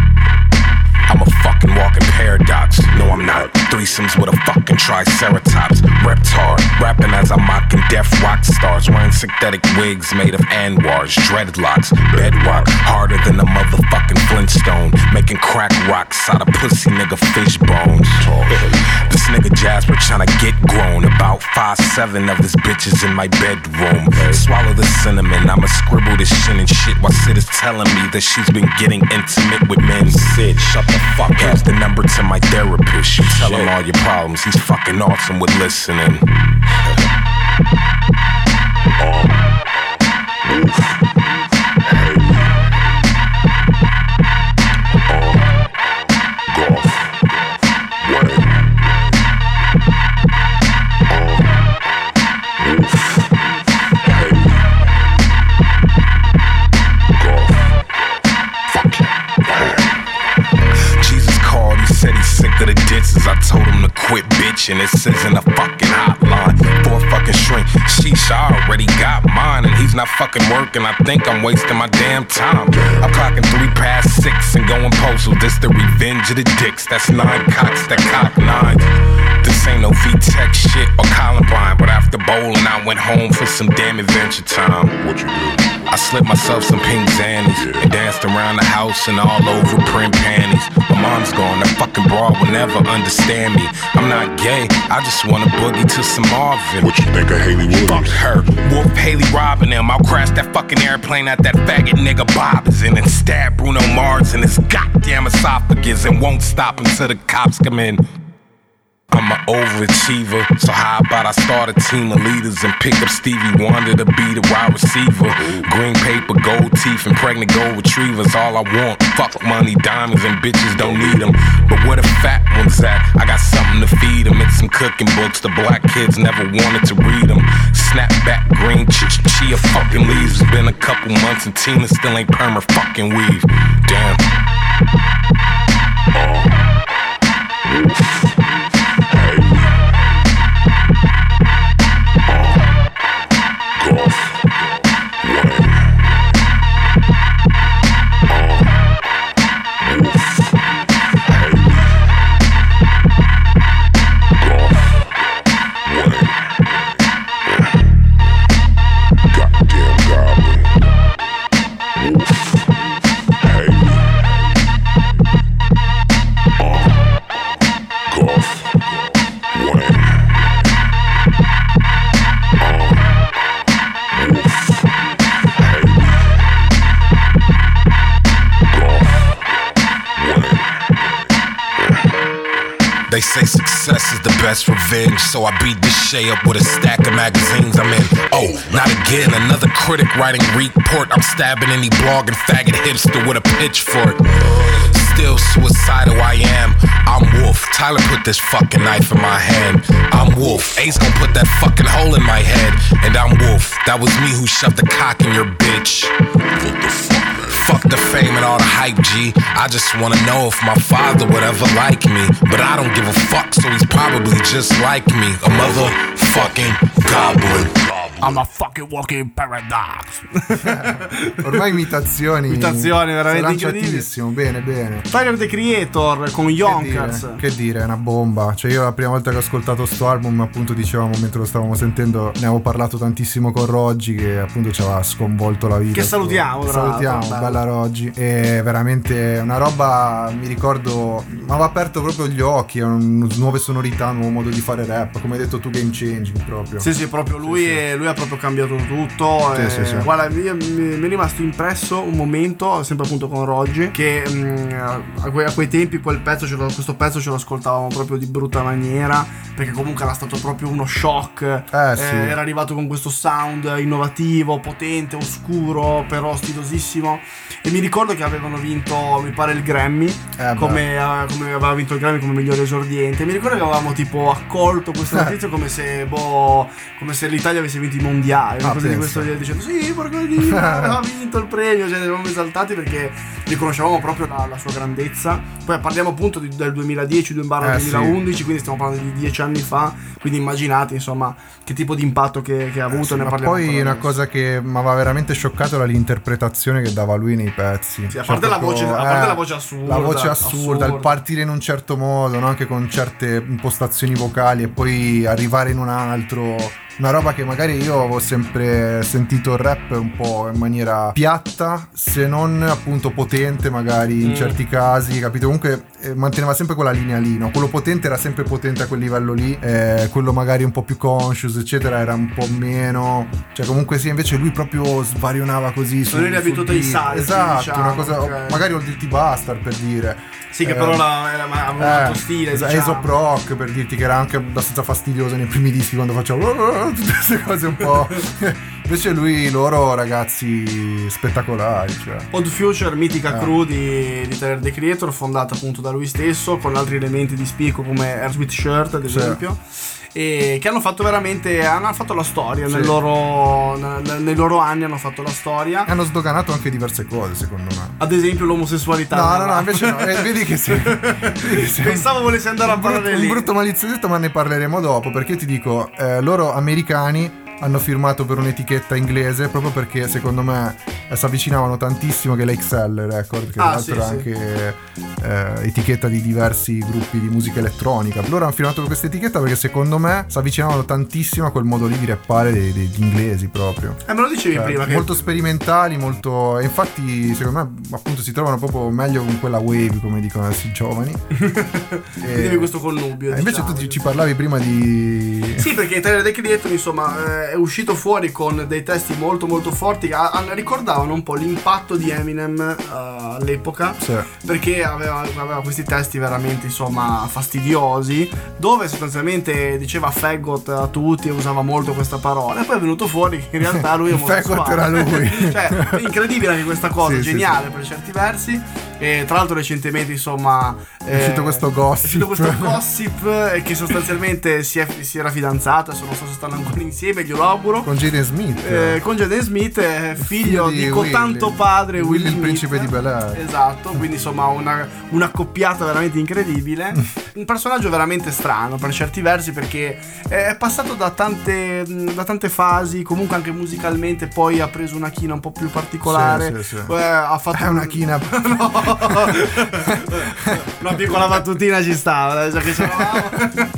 I'm a fucking walking paradox. No, I'm not. Threesomes with a fucking triceratops. Reptar, rapping as I'm mocking deaf rock stars. Wearing synthetic wigs made of anwars, dreadlocks, bedrock, harder than a motherfucking Flintstone. Making crack rocks out of pussy nigga fish bones. This nigga Jasper tryna get grown. About five seven of his bitches in my bedroom. Swallow the cinnamon, I'ma scribble this shit and shit while Sid is telling me that she's been getting intimate with men. Sid, shut the fuck up. Here's the number to my therapist. You tell him all your problems. He's fucking awesome with listening. Jesus called, he said he's sick of the ditches. I told him to quit, bitch. attention. This isn't a fucking hotline for a fucking shrink. Sheesh, I already got mine, and he's not fucking working. I think I'm wasting my damn time. I'm clocking three past six and going postal. This the revenge of the dicks. That's nine cocks that cock nines. This ain't no V-Tech shit or Columbine, but after bowling, I went home for some damn adventure time. What you do? I slipped myself some pink zannies yeah. and danced around the house and all over print panties. My mom's gone, that fucking broad will never understand me. I'm not gay, I just wanna boogie to some Marvin. What you think of Haley Williams? Fuck her, Wolf Haley robbing them. I'll crash that fucking airplane at that faggot nigga Bob is in and stab Bruno Mars in his goddamn esophagus and won't stop until the cops come in. I'm an overachiever, so how about I start a team of leaders and pick up Stevie Wonder to be the wide receiver. Green paper, gold teeth, and pregnant gold retrievers, all I want. Fuck money, diamonds, and bitches don't need them. But where the fat ones at? I got something to feed them. It's some cooking books, the black kids never wanted to read them. Snapback, green, ch- chia fucking leaves. It's been a couple months and Tina still ain't perma fucking weave. Damn. They say success is the best revenge, so I beat this Shay up with a stack of magazines I'm in. Oh, not again, another critic writing report. I'm stabbing any blog and faggot hipster with a pitchfork. Still suicidal I am. I'm Wolf. Tyler put this fucking knife in my hand. I'm Wolf. Ace gon' put that fucking hole in my head. And I'm Wolf. That was me who shoved the cock in your bitch. What the fuck? Fuck the fame and all the hype, G. I just wanna know if my father would ever like me. But I don't give a fuck, so he's probably just like me. A motherfucking goblin. I'm a fucking walking paradox. Ormai imitazioni. Imitazioni veramente incredibili. Bene, bene. Tyler the Creator con Yonkers. Che dire, è una bomba. Cioè, io la prima volta che ho ascoltato sto album, appunto, dicevamo mentre lo stavamo sentendo, ne avevo parlato tantissimo con Roggi, che appunto ci aveva sconvolto la vita. Che salutiamo, che salutiamo, bella Roggi. E veramente una roba, mi ricordo, mi aveva aperto proprio gli occhi. Un, nuove sonorità, un nuovo modo di fare rap. Come hai detto tu, game changing proprio. Sì, sì, proprio lui sì, e sì. lui ha proprio cambiato tutto. Sì, e, sì, sì. Guarda, mi, mi è rimasto impresso un momento, sempre appunto con Roggi, che mh, a, que, a quei tempi quel pezzo, ce lo, questo pezzo ce lo ascoltavamo proprio di brutta maniera, perché comunque era stato proprio uno shock. Eh, sì. eh, era arrivato con questo sound innovativo, potente, oscuro, però stilosissimo. E mi ricordo che avevano vinto, mi pare, il Grammy, eh, come, uh, come aveva vinto il Grammy come migliore esordiente. Mi ricordo che avevamo tipo accolto questa notizia come se boh, come se l'Italia avesse vinto i mondiali, una ah, cosa di questo genere, dicendo sì, porca di aveva vinto il premio, cioè eravamo esaltati perché riconoscevamo proprio la, la sua grandezza. Poi parliamo appunto di, del duemiladieci duemilaundici, sì. Quindi stiamo parlando di dieci anni fa, quindi immaginate insomma che tipo di impatto che, che ha avuto. Eh sì, ne ma parliamo poi una adesso. cosa che mi aveva veramente scioccato era l'interpretazione che dava lui nei pezzi. Sì, a cioè, parte, proprio, la, voce, a eh, parte la voce assurda, la voce assurda, assurda, il partire in un certo modo, no? Anche con certe impostazioni vocali e poi arrivare in un altro. Una roba che magari io avevo sempre sentito il rap un po' in maniera piatta, se non appunto potente magari in mm. certi casi, capito? Comunque eh, manteneva sempre quella linea lì, no? Quello potente era sempre potente a quel livello lì, eh, quello magari un po' più conscious eccetera era un po' meno, cioè comunque sì, invece lui proprio svarionava così. Sono eri abituato ai salti, esatto, diciamo, una cosa, okay. Magari Old Dirty Bastard per dire. Sì, che eh, però la, era, aveva un altro eh, stile, es- diciamo. Aesop Rock, per dirti, che era anche abbastanza fastidioso nei primi dischi quando faceva tutte queste cose un po'. Invece lui, loro ragazzi spettacolari, cioè. Odd Future, mitica eh. crew di, di Tyler the Creator, fondata appunto da lui stesso, con altri elementi di spicco come Air Sweet Shirt ad esempio. E che hanno fatto veramente hanno fatto la storia, sì. nel loro, nel, nei loro anni hanno fatto la storia e hanno sdoganato anche diverse cose, secondo me, ad esempio l'omosessualità. No no no, invece no, eh, vedi che sei, vedi che sei pensavo volessi andare a parlare brutto, lì un brutto maliziosetto, ma ne parleremo dopo, perché io ti dico eh, loro americani hanno firmato per un'etichetta inglese proprio perché secondo me eh, si avvicinavano tantissimo, che è l'X L Record, che ah, tra l'altro sì, è sì. anche eh, etichetta di diversi gruppi di musica elettronica. Loro hanno firmato per questa etichetta perché secondo me si avvicinavano tantissimo a quel modo lì di rappare dei, degli inglesi proprio. Eh, me lo dicevi cioè, prima che... molto sperimentali, molto, e infatti secondo me appunto si trovano proprio meglio con quella wave, come dicono adesso i giovani. Vedevi questo connubio, eh, invece diciamo. tu ci, ci parlavi prima di... Sì, perché Tyler The Creator insomma è uscito fuori con dei testi molto molto forti che a- ricordavano un po' l'impatto di Eminem uh, all'epoca, sì. perché aveva, aveva questi testi veramente insomma fastidiosi, dove sostanzialmente diceva faggot a tutti e usava molto questa parola, e poi è venuto fuori che in realtà lui è omosessuale. Faggot era lui. Cioè incredibile anche questa cosa, sì, geniale sì, per certi versi. E tra l'altro recentemente insomma è uscito eh, questo gossip, è uscito questo gossip eh, che sostanzialmente si, è, si era fidanzata, adesso non so se stanno ancora insieme, glielo auguro, con Jaden Smith, eh, con Jaden Smith, eh, figlio, figlio di, di cotanto padre Willy, Will il principe di Bel-Air. Esatto, quindi insomma una, una coppiata veramente incredibile. Un personaggio veramente strano per certi versi, perché è passato da tante, da tante fasi, comunque anche musicalmente poi ha preso una china un po' più particolare, sì, sì, sì. Eh, ha fatto è una china no. Una piccola battutina ci stava, già che c'eravamo.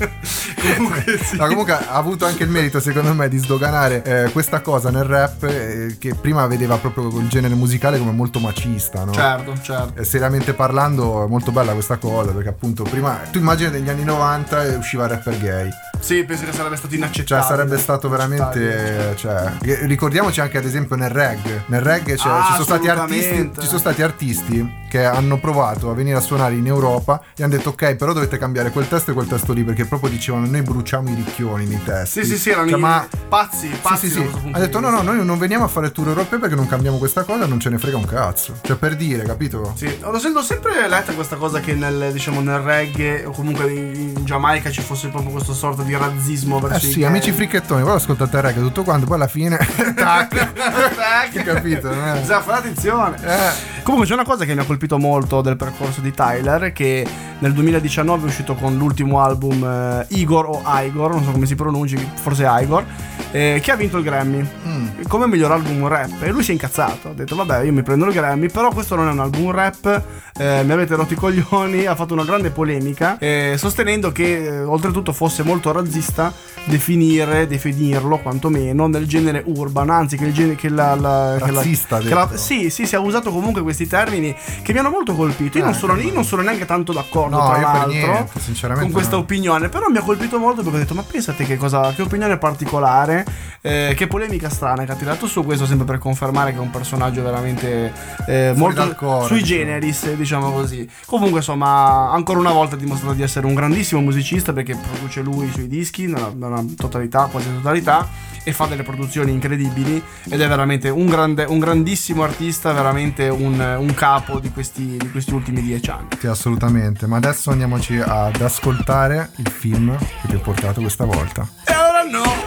Comunque, sì. No, comunque ha avuto anche il merito secondo me di sdoganare eh, questa cosa nel rap, eh, che prima vedeva proprio il genere musicale come molto macista, no? Certo, certo. E seriamente parlando è molto bella questa cosa, perché appunto prima tu immagini negli anni novanta e usciva il rapper gay. Sì, penso che sarebbe stato inaccettabile. Cioè sarebbe stato veramente, cioè, ricordiamoci anche ad esempio nel reggae. Nel reggae cioè, ah, ci sono stati artisti, ci sono stati artisti che hanno provato a venire a suonare in Europa e hanno detto ok, però dovete cambiare quel testo e quel testo lì, perché proprio dicevano noi bruciamo i ricchioni nei testi. Sì, sì, sì, erano cioè, i ma pazzi, pazzi. Sì, sì, sì. Ha detto no, no, noi non veniamo a fare tour europei perché non cambiamo questa cosa, non ce ne frega un cazzo. Cioè per dire, capito? Sì, l'ho sento sempre letta questa cosa che nel, diciamo, nel reggae o comunque in Giamaica ci fosse proprio questo sorta di razzismo verso eh i sì, gay. amici fricchettoni, poi ascoltate il reggae tutto quanto, poi alla fine tac, tac, capito? Eh. Bisogna fare attenzione. Eh. Comunque c'è una cosa che mi ha colpito molto del percorso di Tyler, che nel duemiladiciannove è uscito con l'ultimo album eh, Igor o Igor, non so come si pronunci, forse Igor, eh, che ha vinto il Grammy mm. come miglior album rap, e lui si è incazzato, ha detto vabbè io mi prendo il Grammy, però questo non è un album rap, eh, mi avete rotto i coglioni. Ha fatto una grande polemica eh, sostenendo che eh, oltretutto fosse molto razzista definire, definirlo quantomeno nel genere urban, anzi che il genere che la, la razzista che la, che la, sì sì si è usato comunque questi termini che mi hanno molto colpito. Io, eh, non, sono, io non sono neanche tanto d'accordo, no, tra io l'altro per niente, sinceramente con questa no. opinione, però mi ha colpito molto perché ho detto ma pensate che cosa, che opinione particolare, eh, che polemica strana che ha tirato su questo, sempre per confermare che è un personaggio veramente eh, molto coro, sui diciamo. generis, diciamo così. Comunque insomma ancora una volta ha dimostrato di essere un grandissimo musicista, perché produce lui i suoi dischi nella, nella totalità, quasi totalità, e fa delle produzioni incredibili ed è veramente un, grande, un grandissimo artista, veramente un, un capo di questi, di questi ultimi dieci anni. Sì, assolutamente. Ma adesso andiamoci ad ascoltare il film che ti ho portato questa volta. E allora no!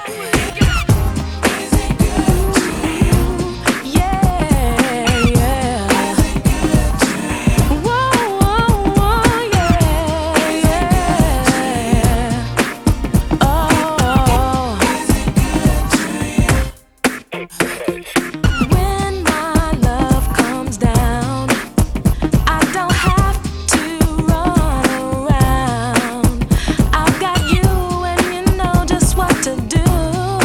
I've got you and you know just what to do.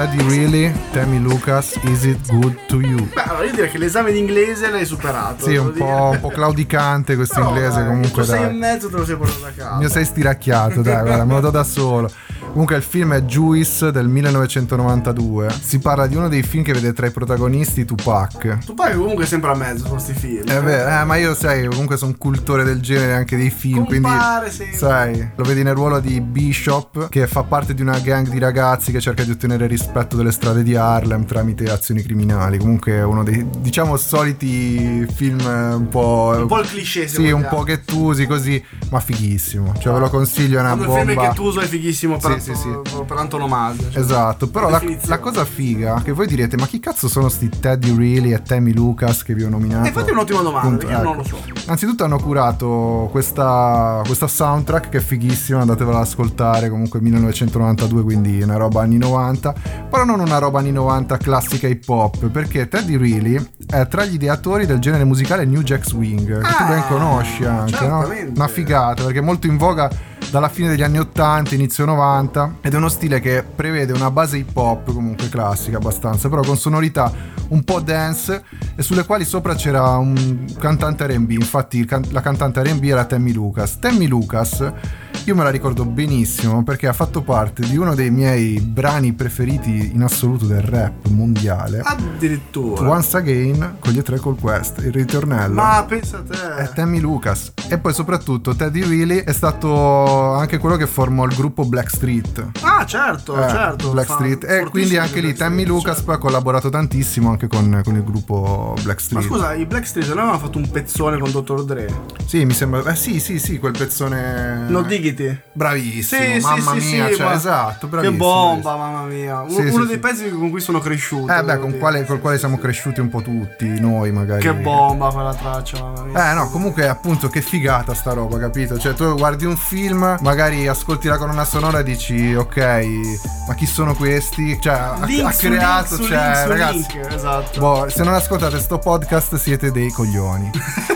Teddy Really, Tammy Lucas, Is It Good to You? Beh, allora io direi che l'esame di inglese l'hai superato. Sì, un po', un po' claudicante questo no, inglese dai, comunque. Tu sei dai. e mezzo te lo sei portato a casa. Il mio sei stiracchiato, dai, guarda, me lo do da solo. Comunque il film è Juice del millenovecentonovantadue. Si parla di uno dei film che vede tra i protagonisti Tupac. Tupac comunque è sempre a mezzo su questi film. È vero, eh, ma io sai, comunque sono un cultore del genere anche dei film, Compare quindi sempre. sai, lo vedi nel ruolo di Bishop, che fa parte di una gang di ragazzi che cerca di ottenere rispetto delle strade di Harlem tramite azioni criminali. Comunque è uno dei, diciamo, soliti film un po'... Un po' il cliché, se sì, un vogliamo. po' ghettusi così, ma fighissimo. Cioè ve lo consiglio, è una Quando bomba. il film è ghettuso è fighissimo per, Sì, sì, sì. per antonomasia. Cioè. Esatto, però la, la cosa figa che voi direte, ma chi cazzo sono sti Teddy Really e Tammy Lucas che vi ho nominato? E infatti è un'ottima domanda, Appunto, perché io ecco. non lo so. Anzitutto hanno curato questa, questa soundtrack che è fighissima, andatevela ad ascoltare, comunque millenovecentonovantadue, quindi una roba anni novanta, però non una roba anni novanta classica hip hop, perché Teddy Really è tra gli ideatori del genere musicale New Jack Swing, che Ah, tu ben conosci anche, no? certamente. Una figata, perché è molto in voga dalla fine degli anni ottanta, inizio novanta, ed è uno stile che prevede una base hip hop comunque classica abbastanza, però con sonorità un po' dance e sulle quali sopra c'era un cantante R and B. Infatti il can- la cantante R and B era Tammy Lucas. Tammy Lucas io me la ricordo benissimo perché ha fatto parte di uno dei miei brani preferiti in assoluto del rap mondiale, Addirittura. Once Again con gli E tre Call Quest, il ritornello. Ma pensa a te. È Tammy Lucas. E poi soprattutto Teddy Really è stato anche quello che formò il gruppo Blackstreet. Ah, certo, Eh, certo. Blackstreet. Fa- E quindi fortissimo anche lì Blackstreet, Tammy Lucas certo. poi ha collaborato tantissimo anche con, con il gruppo Ma Blackstreet. scusa, i Blackstreet non avevano fatto un pezzone con dottor Dre? Sì, mi sembra. Eh sì, sì, sì, quel pezzone. No Diggity? Bravissimo, Sì, mamma sì, sì, mia, sì, cioè, ma- esatto, Che bravissimo. bomba, mamma mia. Uno, Sì, uno sì, dei sì. pezzi con cui sono cresciuto. Eh beh, devo con dire. quale, col quale siamo cresciuti un po' tutti, noi magari. Che bomba quella traccia, mamma mia. Eh no, comunque appunto che figata sta roba, capito? Cioè tu guardi un film, magari ascolti la colonna sonora e dici ok, ma chi sono questi? Cioè ha, Link ha su creato, link su cioè link su ragazzi, link, esatto. boh, se non ascoltate sto podcast siete dei coglioni.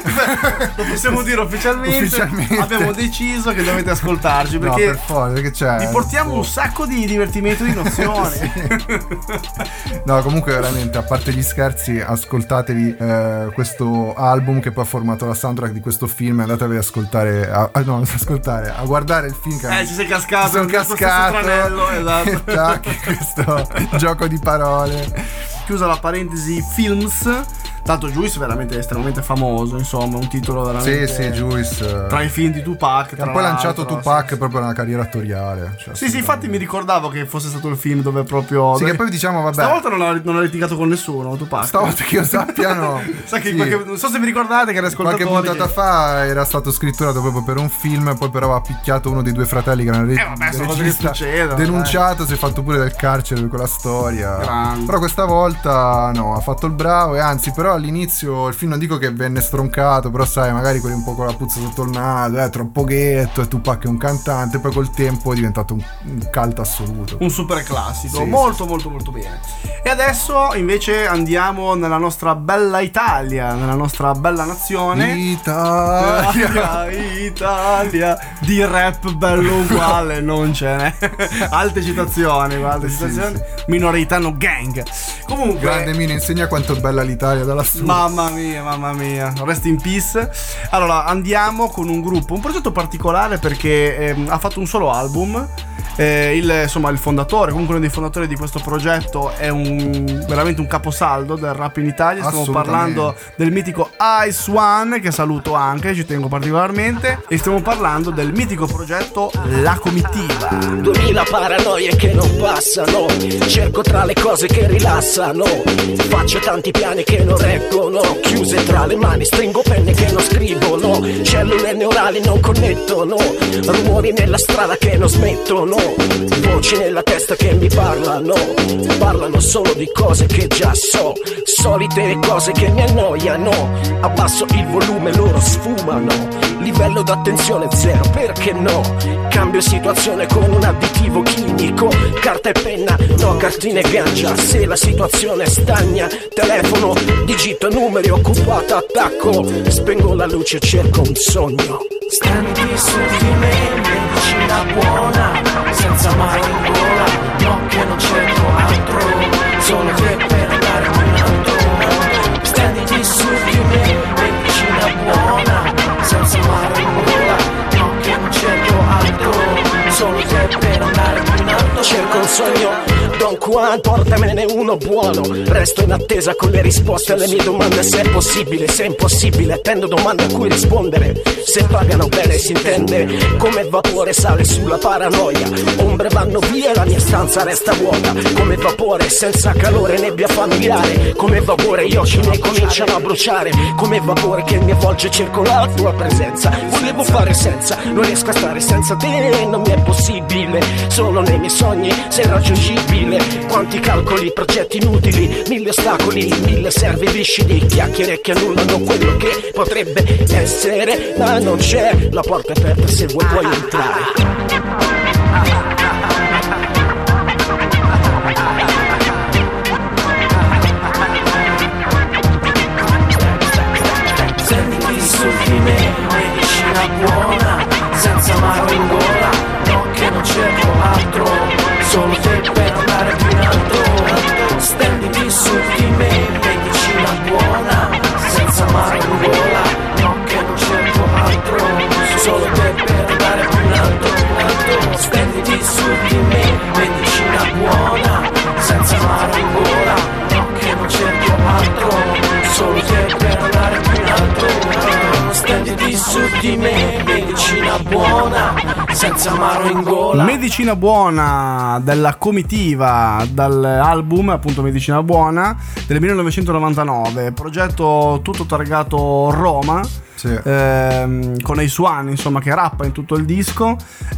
Lo possiamo dire ufficialmente. Ufficialmente. Abbiamo deciso che dovete ascoltarci No, perché per forza, perché c'è. vi portiamo boh. un sacco di divertimento e di nozioni. No, comunque veramente, a parte gli scherzi, ascoltatevi eh, questo album che poi ha formato la soundtrack di questo film e andatevi ad ascoltare, a, a- no, ad ascoltare, a guardare il film che Eh, ci sei cascato. mi sono in questo cascato, stesso tranello, esatto. Tac, questo gioco di parole. Chiusa la parentesi films. Tanto Juice è veramente estremamente famoso, insomma, un titolo veramente. Sì, sì, Juice. Tra i film di Tupac. Che ha tra poi lanciato l'altro, Tupac sì. proprio nella carriera attoriale. Cioè, Sì, sì, infatti mi ricordavo che fosse stato il film dove proprio. Sì, dove- che poi diciamo, vabbè. Stavolta non ha, non ha litigato con nessuno, Tupac. Stavolta che io sappia, no. Sa che Sì. qualche- non so se vi ricordate che era Qualche ascoltatori. puntata che- fa era stato scritturato proprio per un film, poi però ha picchiato uno dei due fratelli che era il Eh, vabbè, sono cose che regista, succedono, denunciato, si è fatto pure del carcere per quella storia. Grande. Però questa volta no, ha fatto il bravo e anzi però all'inizio il film non dico che venne stroncato, però sai, magari quelli un po' con la puzza sotto il naso, è troppo ghetto, e Tupac è un cantante, poi col tempo è diventato un, un cult assoluto. Un super classico, Sì, molto molto molto bene. E adesso invece andiamo nella nostra bella Italia, nella nostra bella nazione. Italia. Italia, Italia, di rap bello uguale, non ce n'è. Alte citazioni, guarda, Sì, citazioni. Minoritano gang. Comunque, Grande Mino, insegna quanto è bella l'Italia dalla sua. mamma mia, mamma mia, rest in peace. Allora, andiamo con un gruppo, un progetto particolare perché ehm, ha fatto un solo album. Eh, il, insomma, il fondatore, comunque uno dei fondatori di questo progetto è un veramente un caposaldo del rap in Italia. Stiamo Assolutamente. parlando del mitico Ice One, che saluto anche, ci tengo particolarmente. E stiamo parlando del mitico progetto La Comitiva. Duemila paranoie che non passano, cerco tra le cose che rilassano, faccio tanti piani che non reggono, chiuse tra le mani, stringo penne che non scrivono, cellule neurali non connettono, rumori nella strada che non smettono, voci nella testa che mi parlano, parlano solo di cose che già so, solite cose che mi annoiano, abbasso il volume, loro sfumano, livello d'attenzione zero, perché no? Cambio situazione con un additivo chimico, carta e penna, no cartine e ganja, se la situazione stagna, telefono, digito numeri, occupato, attacco, spengo la luce, cerco un sogno. Standi su di me, medicina buona, senza mai in gola, no che non cerco altro, solo che per andare più in alto. Stenditi su di me, medicina buona, senza mare in gola, no che non cerco altro, solo che per andare più in alto. Cerco un sogno, Don Juan, portamene uno buono. Resto in attesa con le risposte alle mie domande. Se è possibile, se è impossibile, attendo domande a cui rispondere. Se pagano bene si intende, come vapore sale sulla paranoia. Ombre vanno via e la mia stanza resta vuota. Come vapore senza calore, nebbia familiare. Come vapore gli occhi miei cominciano a bruciare. Come vapore che mi avvolge, cerco la tua presenza. Volevo fare senza, non riesco a stare senza te, non mi è possibile. Solo nei miei sogni sei raggiungibile. Quanti calcoli, progetti inutili, mille ostacoli, mille serve viscidi, chiacchiere che annullano quello che potrebbe essere, ma non c'è, la porta è aperta se vuoi puoi entrare. Senti su di me, medicina buona, senza mano in gola, no che non cerco altro, solo te per andare più in alto. Stenditi su di me, medicina buona, senza mano in gola, no che non cerco altro, solo te per andare più in alto. Stenditi su di me, medicina buona, senza mano in gola, no che non cerco altro, solo te per andare più in alto. Stenditi su di me, medicina buona, senza amaro in gola. Medicina buona della comitiva, dall'album appunto Medicina buona del millenovecentonovantanove, progetto tutto targato Roma. Sì. Ehm, con Ace One insomma che rappa in tutto il disco,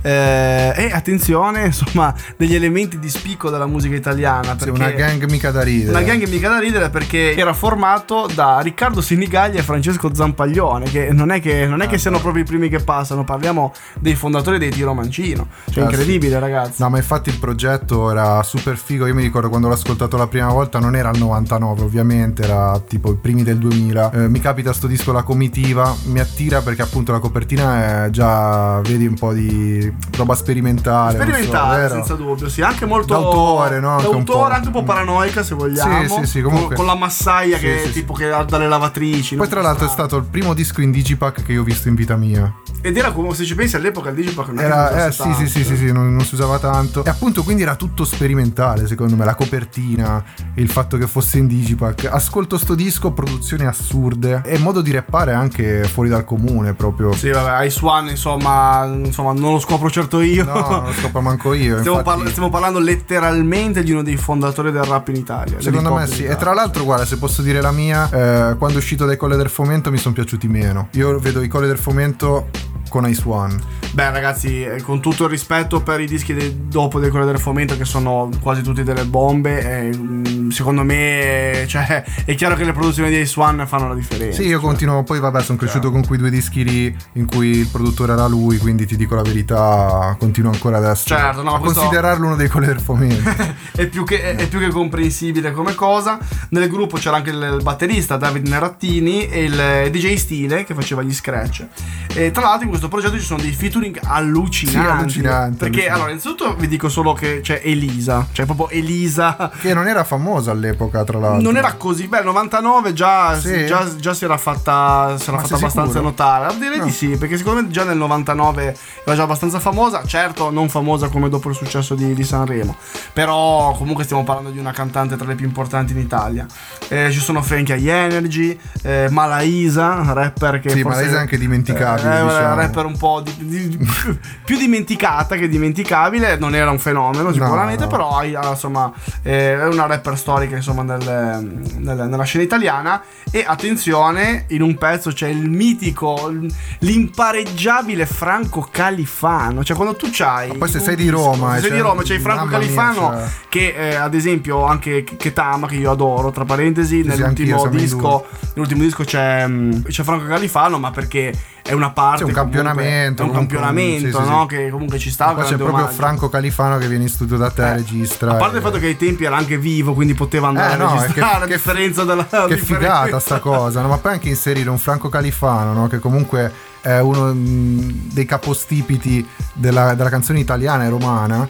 eh, e attenzione insomma degli elementi di spicco della musica italiana, sì, una gang mica da ridere una gang mica da ridere perché era formato da Riccardo Sinigaglia e Francesco Zampaglione, che non è che, non è che siano proprio i primi che passano, parliamo dei fondatori dei Tiro Mancino, cioè ah, incredibile sì. Ragazzi, no ma infatti il progetto era super figo. Io mi ricordo quando l'ho ascoltato la prima volta, non era il novantanove ovviamente, era tipo i primi del duemila. eh, mi capita sto disco La Comitiva, mi attira perché appunto la copertina è già, vedi, un po' di roba sperimentale sperimentale so, senza dubbio, sì, anche molto d'autore, no? d'autore, anche un po', anche un po' paranoica se vogliamo, sì, sì, sì, comunque, con, con la massaia sì, che sì, tipo sì. che ha dalle lavatrici. Poi tra l'altro è stato il primo disco in digipack che io ho visto in vita mia, ed era come, se ci pensi all'epoca il digipack non era eh, sì, sì sì sì sì non, non si usava tanto, e appunto quindi era tutto sperimentale secondo me, la copertina, il fatto che fosse in digipack. Ascolto sto disco, produzioni assurde e modo di rappare anche fuori dal comune proprio. Sì, vabbè, Ace One insomma, insomma non lo scopro certo io. No, non lo scopro manco io. Stiamo, infatti... parla- stiamo parlando letteralmente di uno dei fondatori del rap in Italia. Secondo me sì. E tra l'altro, guarda, se posso dire la mia, eh, quando è uscito dai Colle del Fomento mi sono piaciuti meno. Io vedo i Colle del Fomento con Ace One. Beh ragazzi, con tutto il rispetto per i dischi de- dopo dei Colle del Fomento, che sono quasi tutti delle bombe, eh, secondo me cioè, è chiaro che le produzioni di Ace One fanno la differenza. Sì, io cioè. continuo. Poi vabbè, sono cresciuto cioè. con quei due dischi lì in cui il produttore era lui, quindi ti dico la verità, continuo ancora adesso certo, no, a questo... considerarlo uno dei Colle del Fomento. è, più che, è, è più che comprensibile come cosa. Nel gruppo c'era anche il, il batterista David Nerattini e il D J Stile che faceva gli scratch, e tra l'altro in questo progetto ci sono dei featuring allucinanti, sì, allucinanti perché allucinanti. Allora innanzitutto vi dico solo che c'è Elisa, cioè proprio Elisa, che non era famosa all'epoca, tra l'altro non era così, beh, novantanove già, sì. già, già si era fatta, si era fatta abbastanza sicuro? notare, direi no. di sì, perché secondo me già nel novantanove era già abbastanza famosa, certo non famosa come dopo il successo di, di Sanremo, però comunque stiamo parlando di una cantante tra le più importanti in Italia. Eh, ci sono Frankie High Energy, eh, Malaisa, rapper che sì, forse Malaisa è anche dimenticabile, eh, diciamo. rapper un po' di, di, più dimenticata che dimenticabile, non era un fenomeno sicuramente, no, no. però insomma eh, è una rapper storica insomma nel, nel, nella scena italiana. E attenzione, in un pezzo c'è il mitico, l'impareggiabile Franco Califano, cioè quando tu c'hai, ma poi se sei di Roma, se sei cioè, di Roma c'hai Franco Califano mia, cioè... che eh, ad esempio anche Ketama, che io adoro, tra parentesi, sì, nell'ultimo disco nell'ultimo disco c'è, c'è Franco Califano, ma perché è una parte, c'è un campionamento, è un campionamento, sì, sì, no? Sì. Che comunque ci sta. Poi c'è proprio omaggio. Franco Califano che viene in studio da te, eh, registra. A parte e... il fatto che ai tempi era anche vivo, quindi poteva andare eh, a no, registrare, che, a differenza della che differenza. figata sta cosa, no? Ma poi anche inserire un Franco Califano, no? Che comunque è uno mh, dei capostipiti della, della canzone italiana e romana.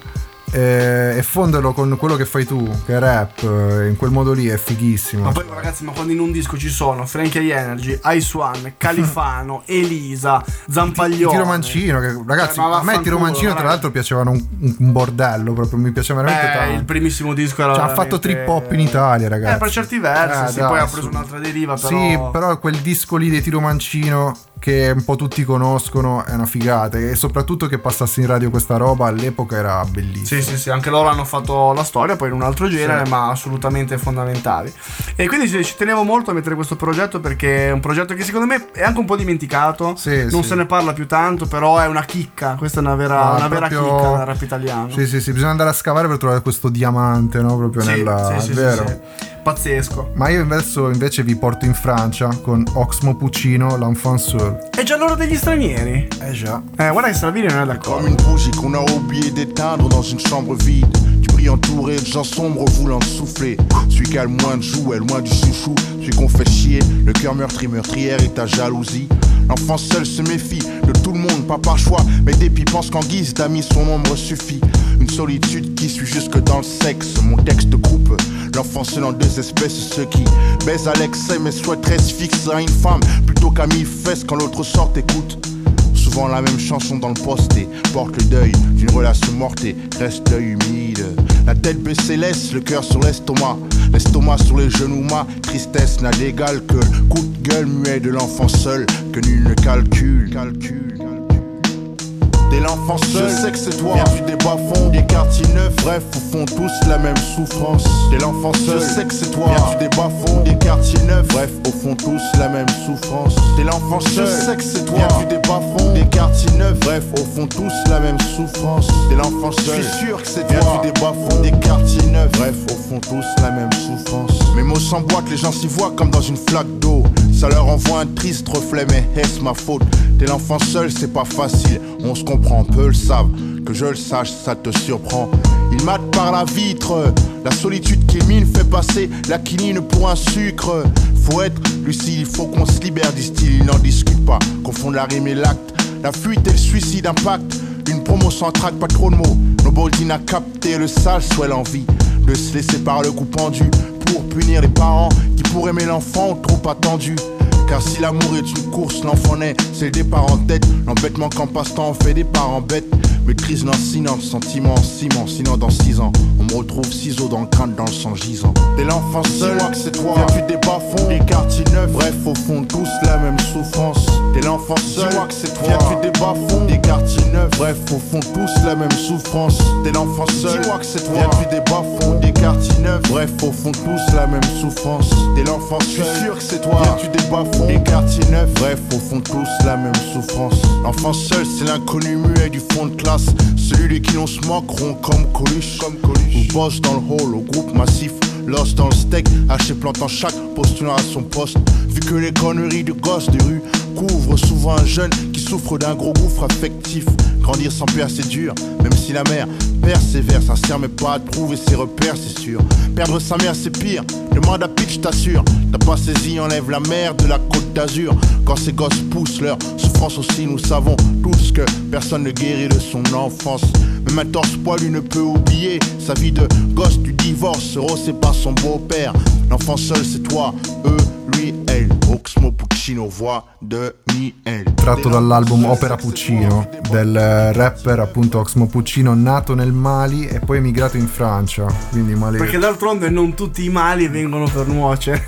e, e fonderlo con quello che fai tu, che è rap, in quel modo lì è fighissimo. Ma poi ragazzi, ma quando in un disco ci sono Frankie Energy, Ice One, Califano, Elisa, Zampaglione, Tiro Mancino, che ragazzi, eh, a me Tiro Mancino tra l'altro piacevano un, un bordello, proprio mi piaceva veramente Beh, tanto. il primissimo disco era cioè, veramente... ha fatto trip hop in Italia, ragazzi. Eh, per certi versi, eh, sì, dai, poi ha su. preso un'altra deriva, però... Sì, però quel disco lì di Tiro Mancino che un po' tutti conoscono è una figata, e soprattutto che passasse in radio questa roba all'epoca era bellissimo. Sì, sì, sì, anche loro hanno fatto la storia poi in un altro genere, sì, ma assolutamente fondamentali. E quindi sì, ci tenevo molto a mettere questo progetto, perché è un progetto che secondo me è anche un po' dimenticato, sì, non sì. se ne parla più tanto, però è una chicca, questa è una vera, Ah, una vera proprio... chicca del rap italiano. Sì, sì, sì, bisogna andare a scavare per trovare questo diamante, no? Proprio Sì, nella... sì, sì, è vero. sì, sì. Pazzesco. Ma io invece, invece vi porto in Francia con Oxmo Puccino, L'Enfant Seul. È già l'ora degli stranieri? Eh già. Eh, guarda che Salvini non è d'accordo. Comme une bougie qu'on a oublié d'éteindre dans une chambre vide. Tu brilles entouré de gens sombres voulant souffler. Celui qui a le moins de jouets, loin du chouchou. Celui qu'on fait chier, le cœur meurtri, meurtrière et ta jalousie. L'enfant seul se méfie de tout le monde, pas par choix, mais dépit pense qu'en guise d'amis son ombre suffit. Une solitude qui suit jusque dans le sexe. Mon texte coupe l'enfant seul en deux espèces. Ceux qui baisent à l'excès mais souhaiteraient se fixer à une femme plutôt qu'à mille fesses quand l'autre sort écoute. Souvent la même chanson dans le poste et porte le deuil d'une relation morte et reste l'œil humide. La tête baissée laisse le cœur sur l'estomac, l'estomac sur les genoux, ma tristesse n'a d'égal que le coup de gueule muet de l'enfant seul que nul ne calcule. calcule. T'es l'enfant seul, je sais que c'est toi. Viens du bas-fonds, des quartiers neufs. Bref, au fond tous la même souffrance. T'es l'enfant seul, je sais que c'est toi. Viens du bas-fonds, des quartiers neufs. Bref, au fond tous la même souffrance. T'es l'enfant seul, je sais que c'est toi. Viens du bas-fonds, des quartiers neufs. Bref, au fond tous la même souffrance. T'es l'enfant seul, je suis sûr que c'est toi. Viens du bas-fonds, des quartiers neufs. Bref, au fond tous la même souffrance. Mes mots s'emboîtent, les gens s'y voient comme dans une flaque d'eau. Ça leur envoie un triste reflet, mais est-ce ma faute? T'es l'enfant seul, c'est pas facile, on se comprend, peu le savent. Que je le sache, ça te surprend. Il mate par la vitre, la solitude qu'il mine fait passer la quinine pour un sucre. Faut être lucide, il faut qu'on se libère du style, il n'en discute pas. Confondre la rime et l'acte, la fuite et le suicide impact. Une promo sans trac, pas trop de mots. Noboldine a capté le sale, soit l'envie de se laisser par le coup pendu pour punir les parents qui pour aimer l'enfant ont trop attendu. Car si l'amour est une course, l'enfant naît, c'est le départ en tête. L'embêtement qu'en passe-temps on fait des parents bêtes. Maîtrise lancinante, sentiment en ciment. Sinon dans six ans, on me retrouve ciseaux dans le crâne, dans le sang gisant. T'es l'enfant seul, dis-moi que c'est toi. Viens du bas-fonds, des quartiers neufs. Bref, au fond tous la même souffrance. T'es l'enfant seul, dis-moi que c'est toi. Viens du bas-fonds, des quartiers neufs. Bref, au fond tous la même souffrance. T'es l'enfant seul, dis-moi que c'est toi. Viens du bas-fonds, des quartiers neufs. Bref, au fond tous la même souffrance. T'es l'enfant seul, je suis sûr que c'est toi. Viens du bas-fonds, des quartiers neufs. Bref, au fond tous la même souffrance. L'enfant seul, c'est l'inconnu muet du fond de classe. Celui de qui l'on se moqueront comme Coluche, comme Coluche. Ou boss dans le hall, au groupe massif. Lost dans le steak, haché plantant chaque postulant à son poste. Vu que les conneries de gosses de rue couvrent souvent un jeune qui souffre d'un gros gouffre affectif. Grandir sans père c'est dur, même si la mère persévère, sincère mais pas à trouver ses repères c'est sûr. Perdre sa mère c'est pire, demande à Pitch t'assure. T'as pas saisi, enlève la mer de la côte d'Azur. Quand ces gosses poussent leur souffrance aussi, nous savons tous que personne ne guérit de son enfance. Même un torse poilu ne peut oublier sa vie de gosse du divorce. Euro c'est pas son beau-père, l'enfant seul c'est toi, eux, lui, elle. Oxmo Puccino, voix de Miel. Tratto dall'album Opera Puccino del rapper appunto Oxmo Puccino, nato nel Mali e poi emigrato in Francia, quindi Mali. Perché d'altronde non tutti i mali vengono per nuocere.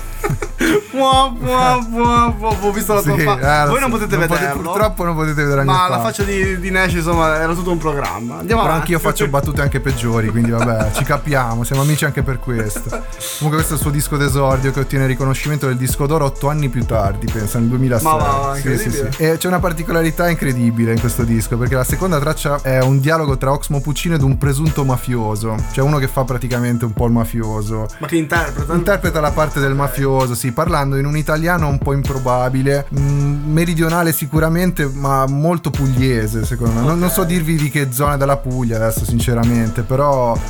Mua, mua, mua, mua. Ho visto la tua Sì, faccia. eh, Voi non so, potete non vederlo. Potete, purtroppo non potete vedere la mia Ma faccia. la faccia di, di Nash insomma era tutto un programma. Andiamo Però avanti. anch'io faccio battute anche peggiori, quindi vabbè, ci capiamo, siamo amici anche per questo. Comunque questo è il suo disco d'esordio che ottiene il riconoscimento del disco d'oro otto anni più tardi, pensa, nel duemilasei. Ma va, sì, sì, sì. E c'è una particolarità incredibile in questo disco, perché la seconda traccia è un dialogo tra Oxmo Puccino ed un presunto mafioso, cioè uno che fa praticamente un po' il mafioso. Ma che interpreta? Interpreta la parte del mafioso, sì, parlando in un italiano un po' improbabile, mh, meridionale sicuramente, ma molto pugliese secondo me. Non, non so dirvi di che zona della Puglia adesso sinceramente, però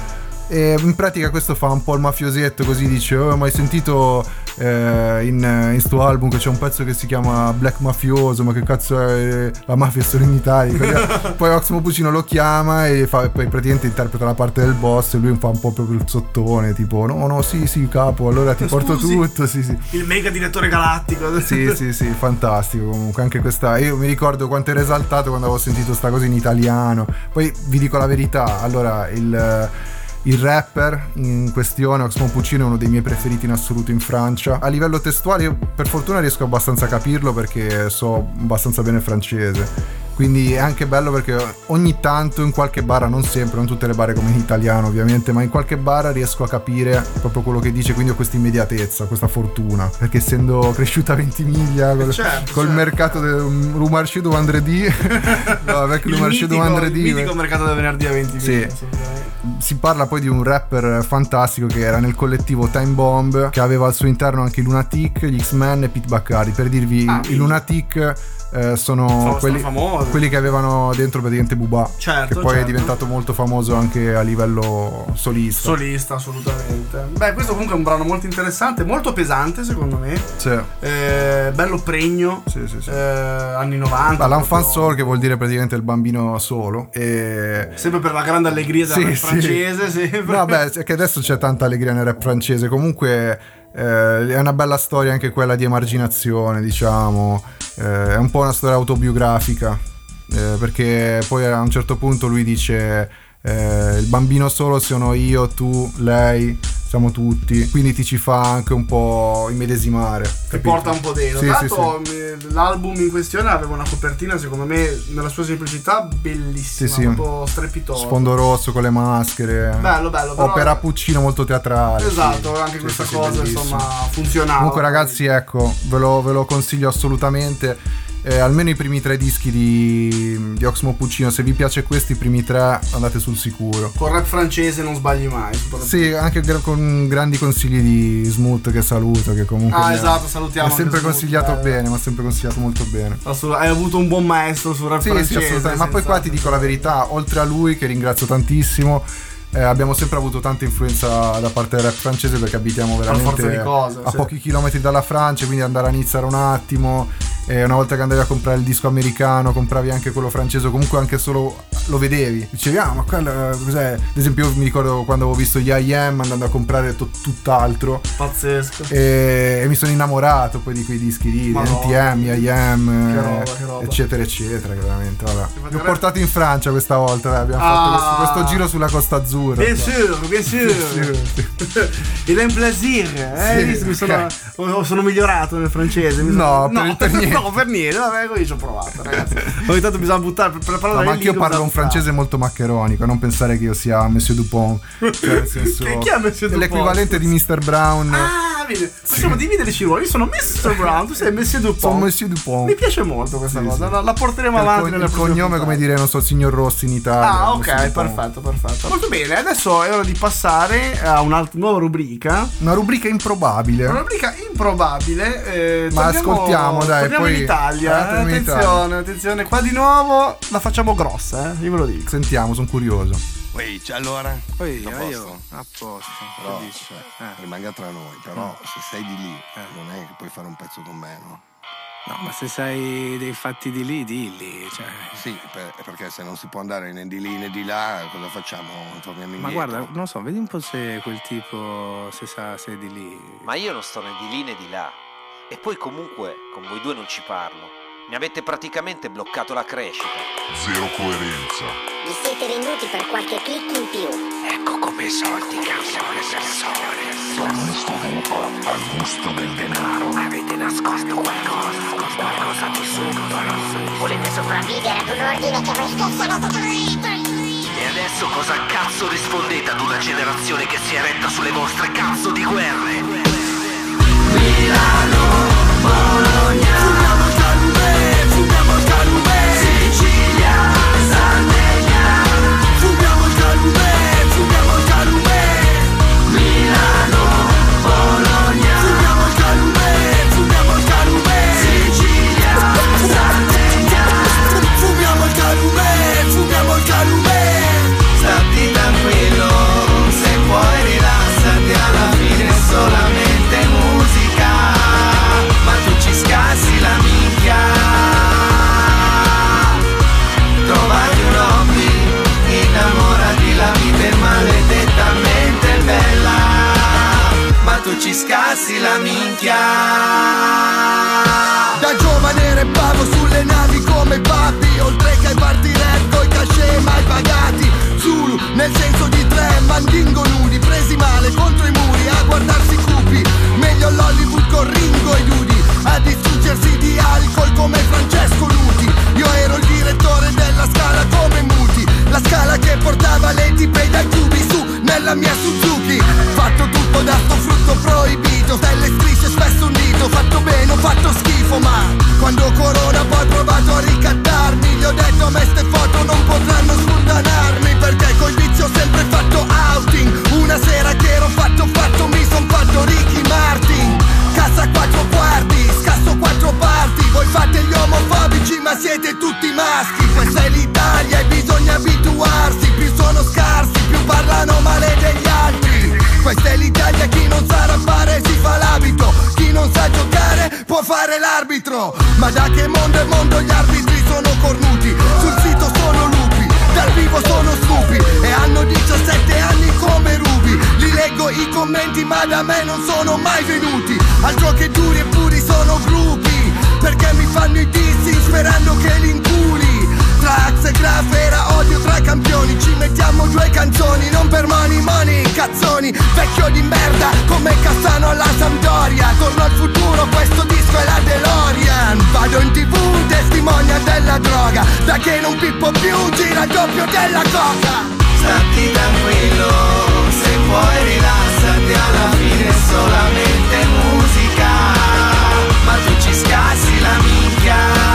E in pratica questo fa un po' il mafiosetto, così dice: oh, ma hai sentito eh, in, in sto album che c'è un pezzo che si chiama Black Mafioso, ma che cazzo è, la mafia è solo in Italia. Poi Oxmo Puccino lo chiama e fa, poi praticamente interpreta la parte del boss e lui fa un po' proprio il sottone, tipo no no sì sì capo, allora ti Scusi, porto tutto, sì sì. Il mega direttore galattico. Sì sì sì, fantastico comunque anche questa. Io mi ricordo quanto ero esaltato quando avevo sentito sta cosa in italiano. Poi vi dico la verità, allora il Il rapper in questione, Oxmo Puccino, è uno dei miei preferiti in assoluto in Francia. A livello testuale io per fortuna riesco abbastanza a capirlo perché so abbastanza bene il francese. Quindi è anche bello perché ogni tanto in qualche bara, non sempre, non tutte le bare come in italiano ovviamente, ma in qualche bara riesco a capire proprio quello che dice, quindi ho questa immediatezza, questa fortuna, perché essendo cresciuta a Ventimiglia col, certo, col certo. mercato del Le Marché du Vendredi, no, avec Le Marché du Vendredi, il mitico mercato del venerdì a Ventimiglia. Sì. Si parla poi di un rapper fantastico che era nel collettivo Time Bomb, che aveva al suo interno anche i Lunatic, gli X-Men e Pete Baccari. Per dirvi, ah, i Lunatic eh, sono Sono quelli, famosi. quelli che avevano dentro praticamente Booba, Certo, che poi certo. è diventato molto famoso anche a livello solista. Solista, assolutamente. Beh, questo comunque è un brano molto interessante, molto pesante secondo me. Sì. Eh, bello pregno. Sì, sì, sì. Eh, anni novanta. Ah, l'enfant proprio- soul, che vuol dire praticamente il bambino solo. E... Sempre per la grande allegria del Sì, rap sì. francese, sempre. No, beh, è che adesso c'è tanta allegria nel rap francese. Comunque eh, è una bella storia anche quella di emarginazione, diciamo. Eh, è un po' una storia autobiografica, eh, perché poi a un certo punto lui dice eh, il bambino solo sono io, tu, lei, siamo tutti, quindi ti ci fa anche un po' immedesimare, Ti capito? porta un po' dentro. Sì, Tra sì, l'altro mi- l'album in questione aveva una copertina secondo me nella sua semplicità bellissima, Sì, sì. proprio strepitosa. Sfondo rosso con le maschere, Bello, bello, però- opera Puccino molto teatrale. Esatto, sì. anche Sì, questa sì, sì, cosa bellissimo. insomma funzionava. Comunque ragazzi, ecco, ve lo, ve lo consiglio assolutamente. Eh, almeno i primi tre dischi di, di Oxmo Puccino, se vi piace questi, i primi tre andate sul sicuro. Con rap francese non sbagli mai. Sì, anche gra- con grandi consigli di Smooth, che saluto, che comunque Ah, mi ha- esatto, salutiamo mi ha sempre anche Smooth, consigliato bello. bene, mi ha sempre consigliato molto bene. Assolut- hai avuto un buon maestro sul rap Sì, francese. sì, assolutamente. Ma poi qua ti dico la verità, oltre a lui, che ringrazio tantissimo, eh, abbiamo sempre avuto tanta influenza da parte del rap francese, perché abitiamo forza veramente di cose, a sì. pochi chilometri dalla Francia, quindi andare a iniziare un attimo. E una volta che andavi a comprare il disco americano, compravi anche quello francese, o comunque anche solo lo vedevi, dicevi ah ma quello cos'è? Ad esempio io mi ricordo quando avevo visto gli I Am andando a comprare to- tutt'altro, Pazzesco. e, e mi sono innamorato poi di quei dischi lì, Madonna. N T M, I Am, Che roba, eh, che roba. eccetera eccetera, veramente, vabbè. Infatti Li ho rap- portato in Francia questa volta, dai, abbiamo Ah. fatto questo, questo giro sulla Costa Azzurra. Bien qua. sûr, bien sûr. Il è un plaisir, eh? Sì, Visto, mi sono, ok. oh, sono migliorato nel francese. Mi No, sono- per- per niente. No, per niente. Vabbè, io ci ho provato, ragazzi. Ogni tanto bisogna buttare per, per parlare No, ma in anch'io lingua, parlo un bisogna francese molto maccheronico, non pensare che io sia Monsieur Dupont, cioè nel senso, Che- chi è Monsieur è Dupont? l'equivalente di mister Brown. Ah, vedi, facciamo dividerci i ruoli. Io sono mister Brown, tu sei Monsieur Dupont. Sono Monsieur Dupont. Mi piace molto questa Sì, cosa, sì. La, la porteremo Il avanti co- nelle il prossime cognome, puntate. come dire, non so, il signor Rossi in Italia. Ah, Monsieur ok, Dupont. perfetto, perfetto. Molto bene, adesso è ora di passare a un'altra nuova rubrica. Una rubrica improbabile. Una rubrica improbabile. eh, Ma torniamo- ascoltiamo, dai, torniamo poi- in Italia. eh, Eh, torniamo in attenzione, Italia. attenzione, qua di nuovo la facciamo grossa, eh, io ve lo dico. Sentiamo, sono curioso. Ehi, c'è allora? Poi Tutto a io, posto? a posto, Però, che dici? cioè, Eh. rimanga tra noi, però se sei di lì non è che puoi fare un pezzo con me, no? No, ma se sai dei fatti di lì, dilli, cioè. Sì, per- perché se non si può andare né di lì né di là, cosa facciamo? Torniamo indietro. Ma guarda, non so, vedi un po' se quel tipo, se sa, se è di lì. Ma io non sto né di lì né di là. E poi comunque con voi due non ci parlo. Mi avete praticamente bloccato la crescita. Zero coerenza. Vi siete venduti per qualche click in più. Ecco come i soldi cambiano le persone. Sono stupido al gusto del denaro. Avete nascosto qualcosa, qualcosa di subdolo. Volete sopravvivere ad un ordine che voi stessi avete costruito. E adesso cosa cazzo rispondete ad una generazione che si è eretta sulle vostre cazzo di guerre? Milano, Bologna, fumiamo il Calumè, fumiamo il Calumè, Sicilia, Sardegna, fumiamo il Calumè, fumiamo il Calumè, Milano, Bologna, fumiamo il Calumè, fumiamo il Calumè, Sicilia, Sardegna, fumiamo il Calumè, fumiamo il Calumè, stati tranquillo, se minchia. Da giovane rappavo sulle navi come papi, oltre che ai party rap coi cachet mai pagati. Zulu nel senso di tre, mandingo nudi, presi male contro i muri a guardarsi cupi. Meglio l'Hollywood con Ringo e Dudi, a distruggersi di alcol come Francesco Nuti. Io ero il direttore della Scala come Muti, la Scala che portava le tipe dai tubi su nella mia Suzuki. Fatto tutto da sto frutto proibito, stelle strisce spesso un dito. Fatto bene, ho fatto schifo, ma quando Corona poi ho provato a ricattarmi, gli ho detto a me ste foto non potranno spultanarmi, perché coi vizi ho sempre fatto outing. Una sera che ero fatto fatto mi son fatto Ricky Martin. Casa quattro quarti, scasso quattro parti. Voi fate gli omofobici ma siete tutti maschi. Questa è l'Italia e bisogna abituarsi. Più sono scarsi, più parlano male degli altri. Questa è l'Italia, chi non sa rappare si fa l'abito. Chi non sa giocare può fare l'arbitro. Ma da che mondo è mondo gli arbitri sono cornuti. Sul sito sono lupi, dal vivo sono stupi. E hanno diciassette anni come Ruby. Li leggo i commenti ma da me non sono mai venuti. Altro che duri e puri sono gruppi, perché mi fanno i dissi sperando che li inculi. Tra Axe e Graf era odio tra campioni. Ci mettiamo due canzoni, non per money money, cazzoni. Vecchio di merda come Cassano alla Sampdoria. Torno al futuro, questo disco è la DeLorean. Vado in tv, testimonia della droga. Da che non pippo più, gira il doppio della coca. Stati tranquillo, se puoi rilassati, alla fine è solamente musica. Ma tu ci scassi la minchia.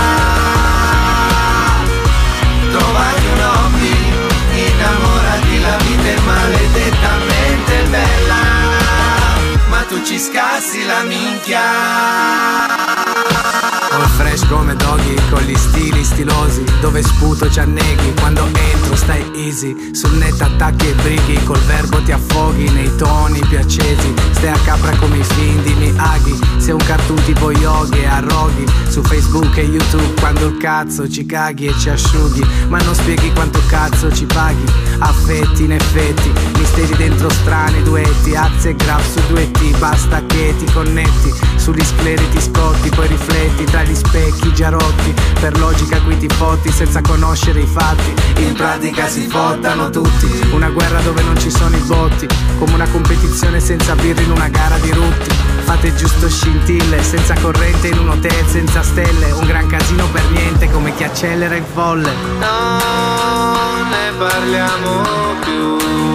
Trovati un hobby, innamorati, la vita è maledettamente bella. Ma tu ci scassi la minchia. All fresh come doggy, con gli stili stilosi, dove sputo ci anneghi, quando entro stai easy. Sul net attacchi e brighi, col verbo ti affoghi nei toni più accesi. Stai a capra come i film di Miyagi, sei un cartoon tipo Yogi e arroghi. Su Facebook e YouTube quando il cazzo ci caghi e ci asciughi, ma non spieghi quanto cazzo ci paghi. Affetti in effetti, misteri dentro strani duetti. Axe e Graf su duetti, basta che ti connetti. Sugli scleri ti scotti, poi rifletti tra gli specchi già rotti. Per logica qui ti fotti senza conoscere i fatti. In pratica si fottano tutti, una guerra dove non ci sono i botti, come una competizione senza birra in una gara di rutti. Fate giusto scintille, senza corrente in un hotel senza stelle. Un gran casino per niente, come chi accelera in folle. Non ne parliamo più.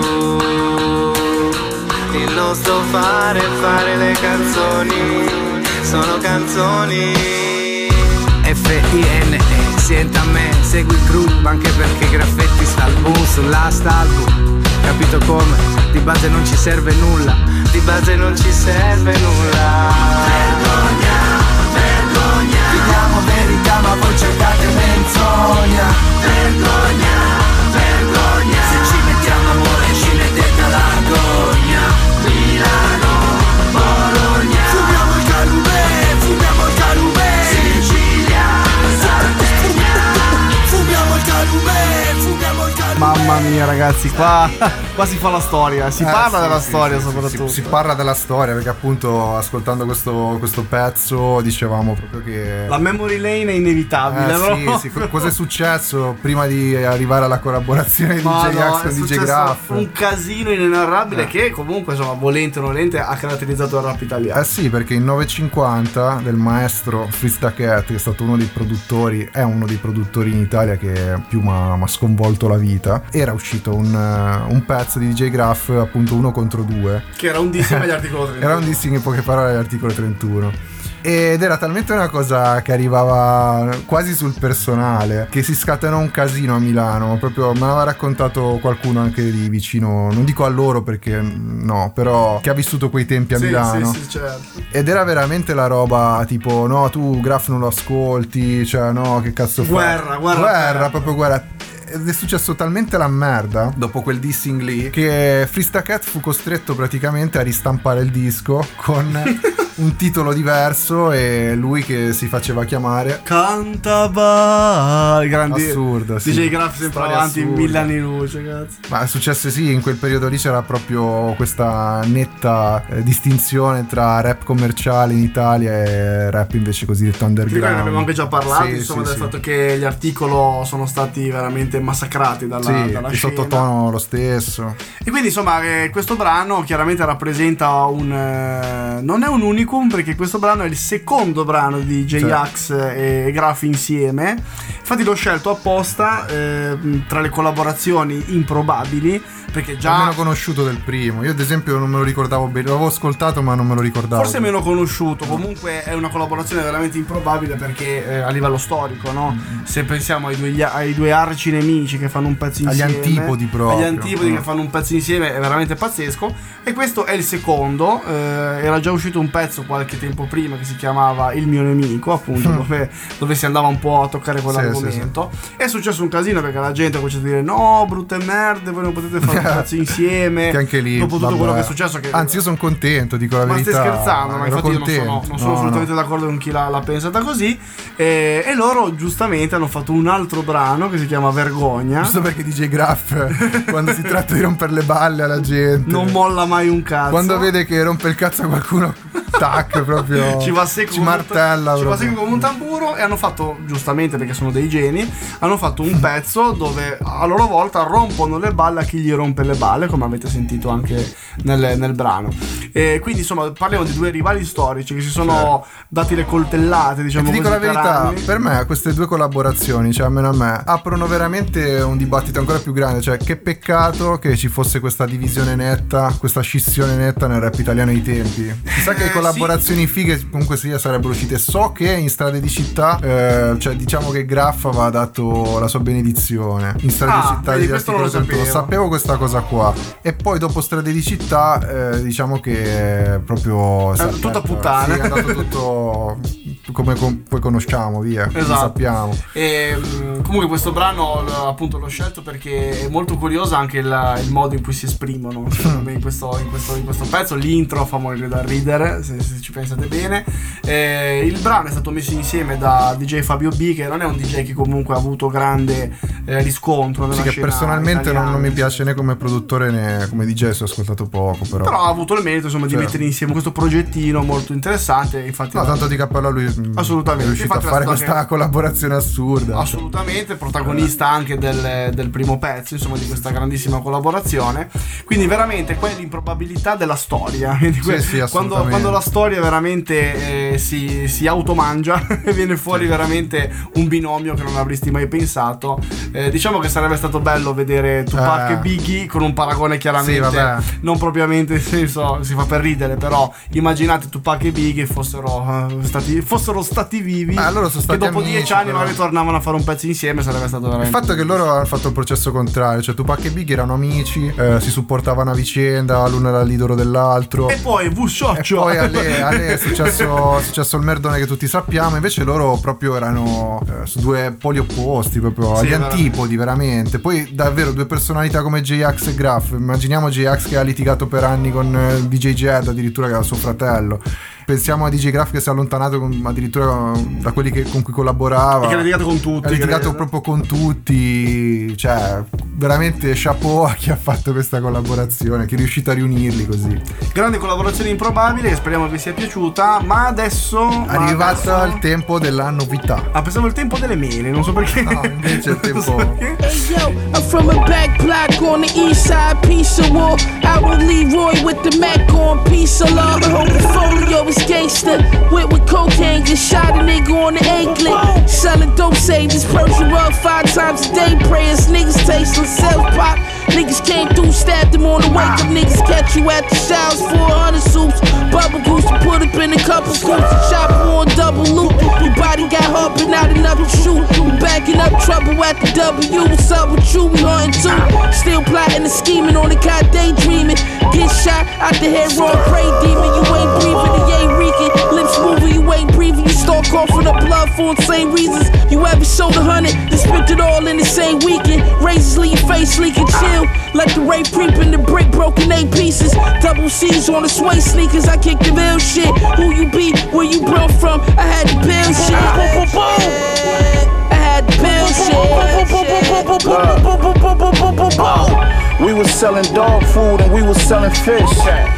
Il nostro fare, fare le canzoni, sono canzoni. F I N E, senta a me, segui il gruppo, anche perché Graffetti sta al boom sull'astalbum. Capito come? Di base non ci serve nulla, di base non ci serve nulla. Vergogna, vergogna. Vediamo verità ma voi cercate menzogna. Vergogna, vergogna. Se ci mettiamo amore ci mettete all'agonia. Milano, Bologna. Fumiamo il calume, fumiamo il calume. Sicilia, Sardegna. Fumiamo il calume, fumiamo il calume. Mamma mia ragazzi, qua, qua si fa la storia, si Eh, parla sì, della sì, storia sì, soprattutto. Si, si parla della storia perché appunto ascoltando questo, questo pezzo dicevamo proprio che La memory lane è inevitabile, eh, no? sì, sì, co- cosa è successo prima di arrivare alla collaborazione di Ma D J no, Axe è con D J successo Graf? un casino inenarrabile Eh. che comunque insomma volente o nolente ha caratterizzato il rap italiano. Eh sì, perché in novecentocinquanta del maestro Fritz Da Cat, che è stato uno dei produttori, è uno dei produttori in Italia che più mi ha sconvolto la vita, era uscito un, uh, un pezzo di D J Graf, appunto uno contro due, Che era un dissing agli articoli trentuno. era un dissing in poche parole all'articolo trentuno. Ed era talmente una cosa che arrivava quasi sul personale che si scatenò un casino a Milano. Proprio me l'aveva raccontato qualcuno anche di vicino, non dico a loro perché no, però che ha vissuto quei tempi a Sì, Milano. sì, sì, certo. Ed era veramente la roba tipo no, tu Graf non lo ascolti, cioè no, che cazzo fai? Guerra, guerra, guerra, guerra. proprio guerra. Ed è successo talmente la merda dopo quel dissing lì che Fritz Da Cat fu costretto praticamente a ristampare il disco con un titolo diverso e lui che si faceva chiamare Cantava grandi assurdo, sì. D J Graff sempre Storia avanti assurda. mille anni luce, cazzo. Ma è successo sì, in quel periodo lì c'era proprio questa netta eh, distinzione tra rap commerciale in Italia e rap invece cosiddetto Sì, underground. ne abbiamo anche già parlato, Sì, insomma, sì, del sì. fatto che gli articoli sono stati veramente massacrati dalla, Sì, dalla il scena. sottotono lo stesso. E quindi insomma eh, questo brano chiaramente rappresenta un eh, non è un unicum, perché questo brano è il secondo brano di J-Ax e Graff insieme. Infatti l'ho scelto apposta eh, tra le collaborazioni improbabili, perché già È meno conosciuto del primo. Io ad esempio non me lo ricordavo bene, l'avevo ascoltato ma non me lo ricordavo. forse meno conosciuto, comunque è una collaborazione veramente improbabile, perché eh, a livello storico, no? Mm-hmm. Se pensiamo ai due, ai due arci nemici che fanno un pezzo Agli insieme, antipodi proprio. agli antipodi Mm. che fanno un pezzo insieme, è veramente pazzesco. E questo è il secondo. eh, era già uscito un pezzo qualche tempo prima che si chiamava Il mio nemico, appunto, Mm. dove, dove si andava un po' a toccare quell'argomento. È successo un casino perché la gente ha cominciato a dire no, brutte merde, voi non potete fare un pezzo insieme. Che anche lì dopo tutto vabbè. quello che è successo, che Anzi io sono contento, dico la ma verità. stai scherzando? Ma ero infatti io non sono, contento. non sono No, assolutamente no. d'accordo con chi l'ha, l'ha pensata così. E, e loro giustamente hanno fatto un altro brano che si chiama Vergogna. Giusto perché D J Graff quando si tratta di rompere le balle alla gente Non molla mai un cazzo. quando vede che rompe il cazzo a qualcuno, tac, proprio ci va secco ci come un- martella ci va proprio. secco come un tamburo. E hanno fatto, giustamente perché sono dei geni, hanno fatto un pezzo dove a loro volta rompono le balle a chi gli rompe le balle, come avete sentito anche nel, nel brano. E quindi insomma parliamo di due rivali storici che si sono dati le coltellate, E diciamo ti dico così, la per verità, anni. per me queste due collaborazioni, cioè almeno a me, aprono veramente un dibattito ancora più grande. Cioè che peccato che ci fosse questa divisione netta, questa scissione netta nel rap italiano ai tempi. Chissà che Eh, collaborazioni fighe comunque sia sarebbero uscite. So che in Strade di Città, eh, cioè diciamo che Graff aveva dato la sua benedizione. In Strade Ah, di Città vedi, di questo non lo trentuno, sapevo. sapevo questa cosa qua. E poi dopo Strade di Città, eh, diciamo che proprio si È aperta- tutta puttana. Sì, è andato tutto come com- poi conosciamo, via. Lo Esatto. sappiamo. E mh, comunque questo brano l- appunto l'ho scelto perché è molto curioso anche il, il modo in cui si esprimono, secondo me, in questo, in questo, in questo pezzo. L'intro fa morire da ridere, se, se ci pensate bene. E il brano è stato messo insieme da D J Fabio B, che non è un D J che comunque ha avuto grande eh, riscontro nella Sì, che scena personalmente non, italiana. non mi piace né come produttore né come D J, se ho ascoltato poco, però. Però ha avuto il merito, insomma, di Certo. mettere insieme questo progettino molto interessante. Infatti No, tanto di cappello a lui. mh, Assolutamente. È riuscito Infatti a fare è stato questa anche- collaborazione assurda. Assolutamente, protagonista anche del, del primo pezzo, insomma, di questa grandissima collaborazione. Quindi veramente qua è l'improbabilità della storia. Quindi que- sì, quando, assolutamente. quando la storia veramente eh, si, si automangia e viene fuori veramente un binomio che non avresti mai pensato. Eh, diciamo che sarebbe stato bello vedere Tupac Eh. e Biggie con un paragone chiaramente Sì, vabbè. non propriamente, nel senso, si fa per ridere, però immaginate Tupac e Biggie fossero, eh, stati, fossero stati vivi, Eh, loro sono che stati dopo amici, dieci anni però. magari tornavano a fare un pezzo insieme, sarebbe stato Il veramente fatto che loro hanno fatto il processo contrario, cioè Tupac e Biggie erano amici, eh, si supportavano a vicenda, l'uno era l'idolo dell'altro. E poi V E Scioccio. poi a lei, a lei è, successo, è successo il merdone che tutti sappiamo. Invece loro proprio erano eh, su due poli opposti, proprio Sì, agli veramente. antipodi, veramente. Poi davvero due personalità come J-Ax e Graff. Immaginiamo J-Ax che ha litigato per anni con eh, D J Jed, addirittura che era suo fratello. Pensiamo a D J Graff che si è allontanato con- addirittura da quelli che- con cui collaborava. E che ha litigato con tutti, Ha litigato credo. proprio con tutti. Cioè, veramente chapeau a chi ha fatto questa collaborazione, che è riuscito a riunirli così. Grande collaborazione improbabile, che speriamo vi sia piaciuta. Ma adesso È ma arrivato adesso- il tempo della novità. Ah, pensavo il tempo delle mele, non so perché. No, invece è il Non so tempo. perché. Hey yo, I'm from a back block on the east side, piece of wall. Out with Leroy with the Mac on, piece of love. The whole portfolio is gangster. Went with cocaine, just shot a nigga on the anklet. Selling dope, save this Persian rug five times a day. Prayers, niggas tasting self pop. Niggas came through, stabbed them on the wake up. Niggas catch you at the showers, four hundred soups. Bubble goose to put up in a couple scoops. Chop on double loop. Your body got hard, but not enough to shoot. You backing up trouble at the W. What's up with you? We hunting too. Still plotting and scheming on the cot, daydreaming. Get shot out the head, wrong, pray demon. You ain't breathing, you ain't reeking. Lips moving, you ain't breathing. You start coughing up blood love for the same reasons. You ever sold a hundred, then spent it all in the same weekend. Razors leave your face leaking, chill. Let the rape creep in the brick broken eight pieces. Double C's on the sway sneakers, I kick the real shit. Who you be, where you brought from, I had to build shit. I had to build shit. We was selling dog food and we was selling fish.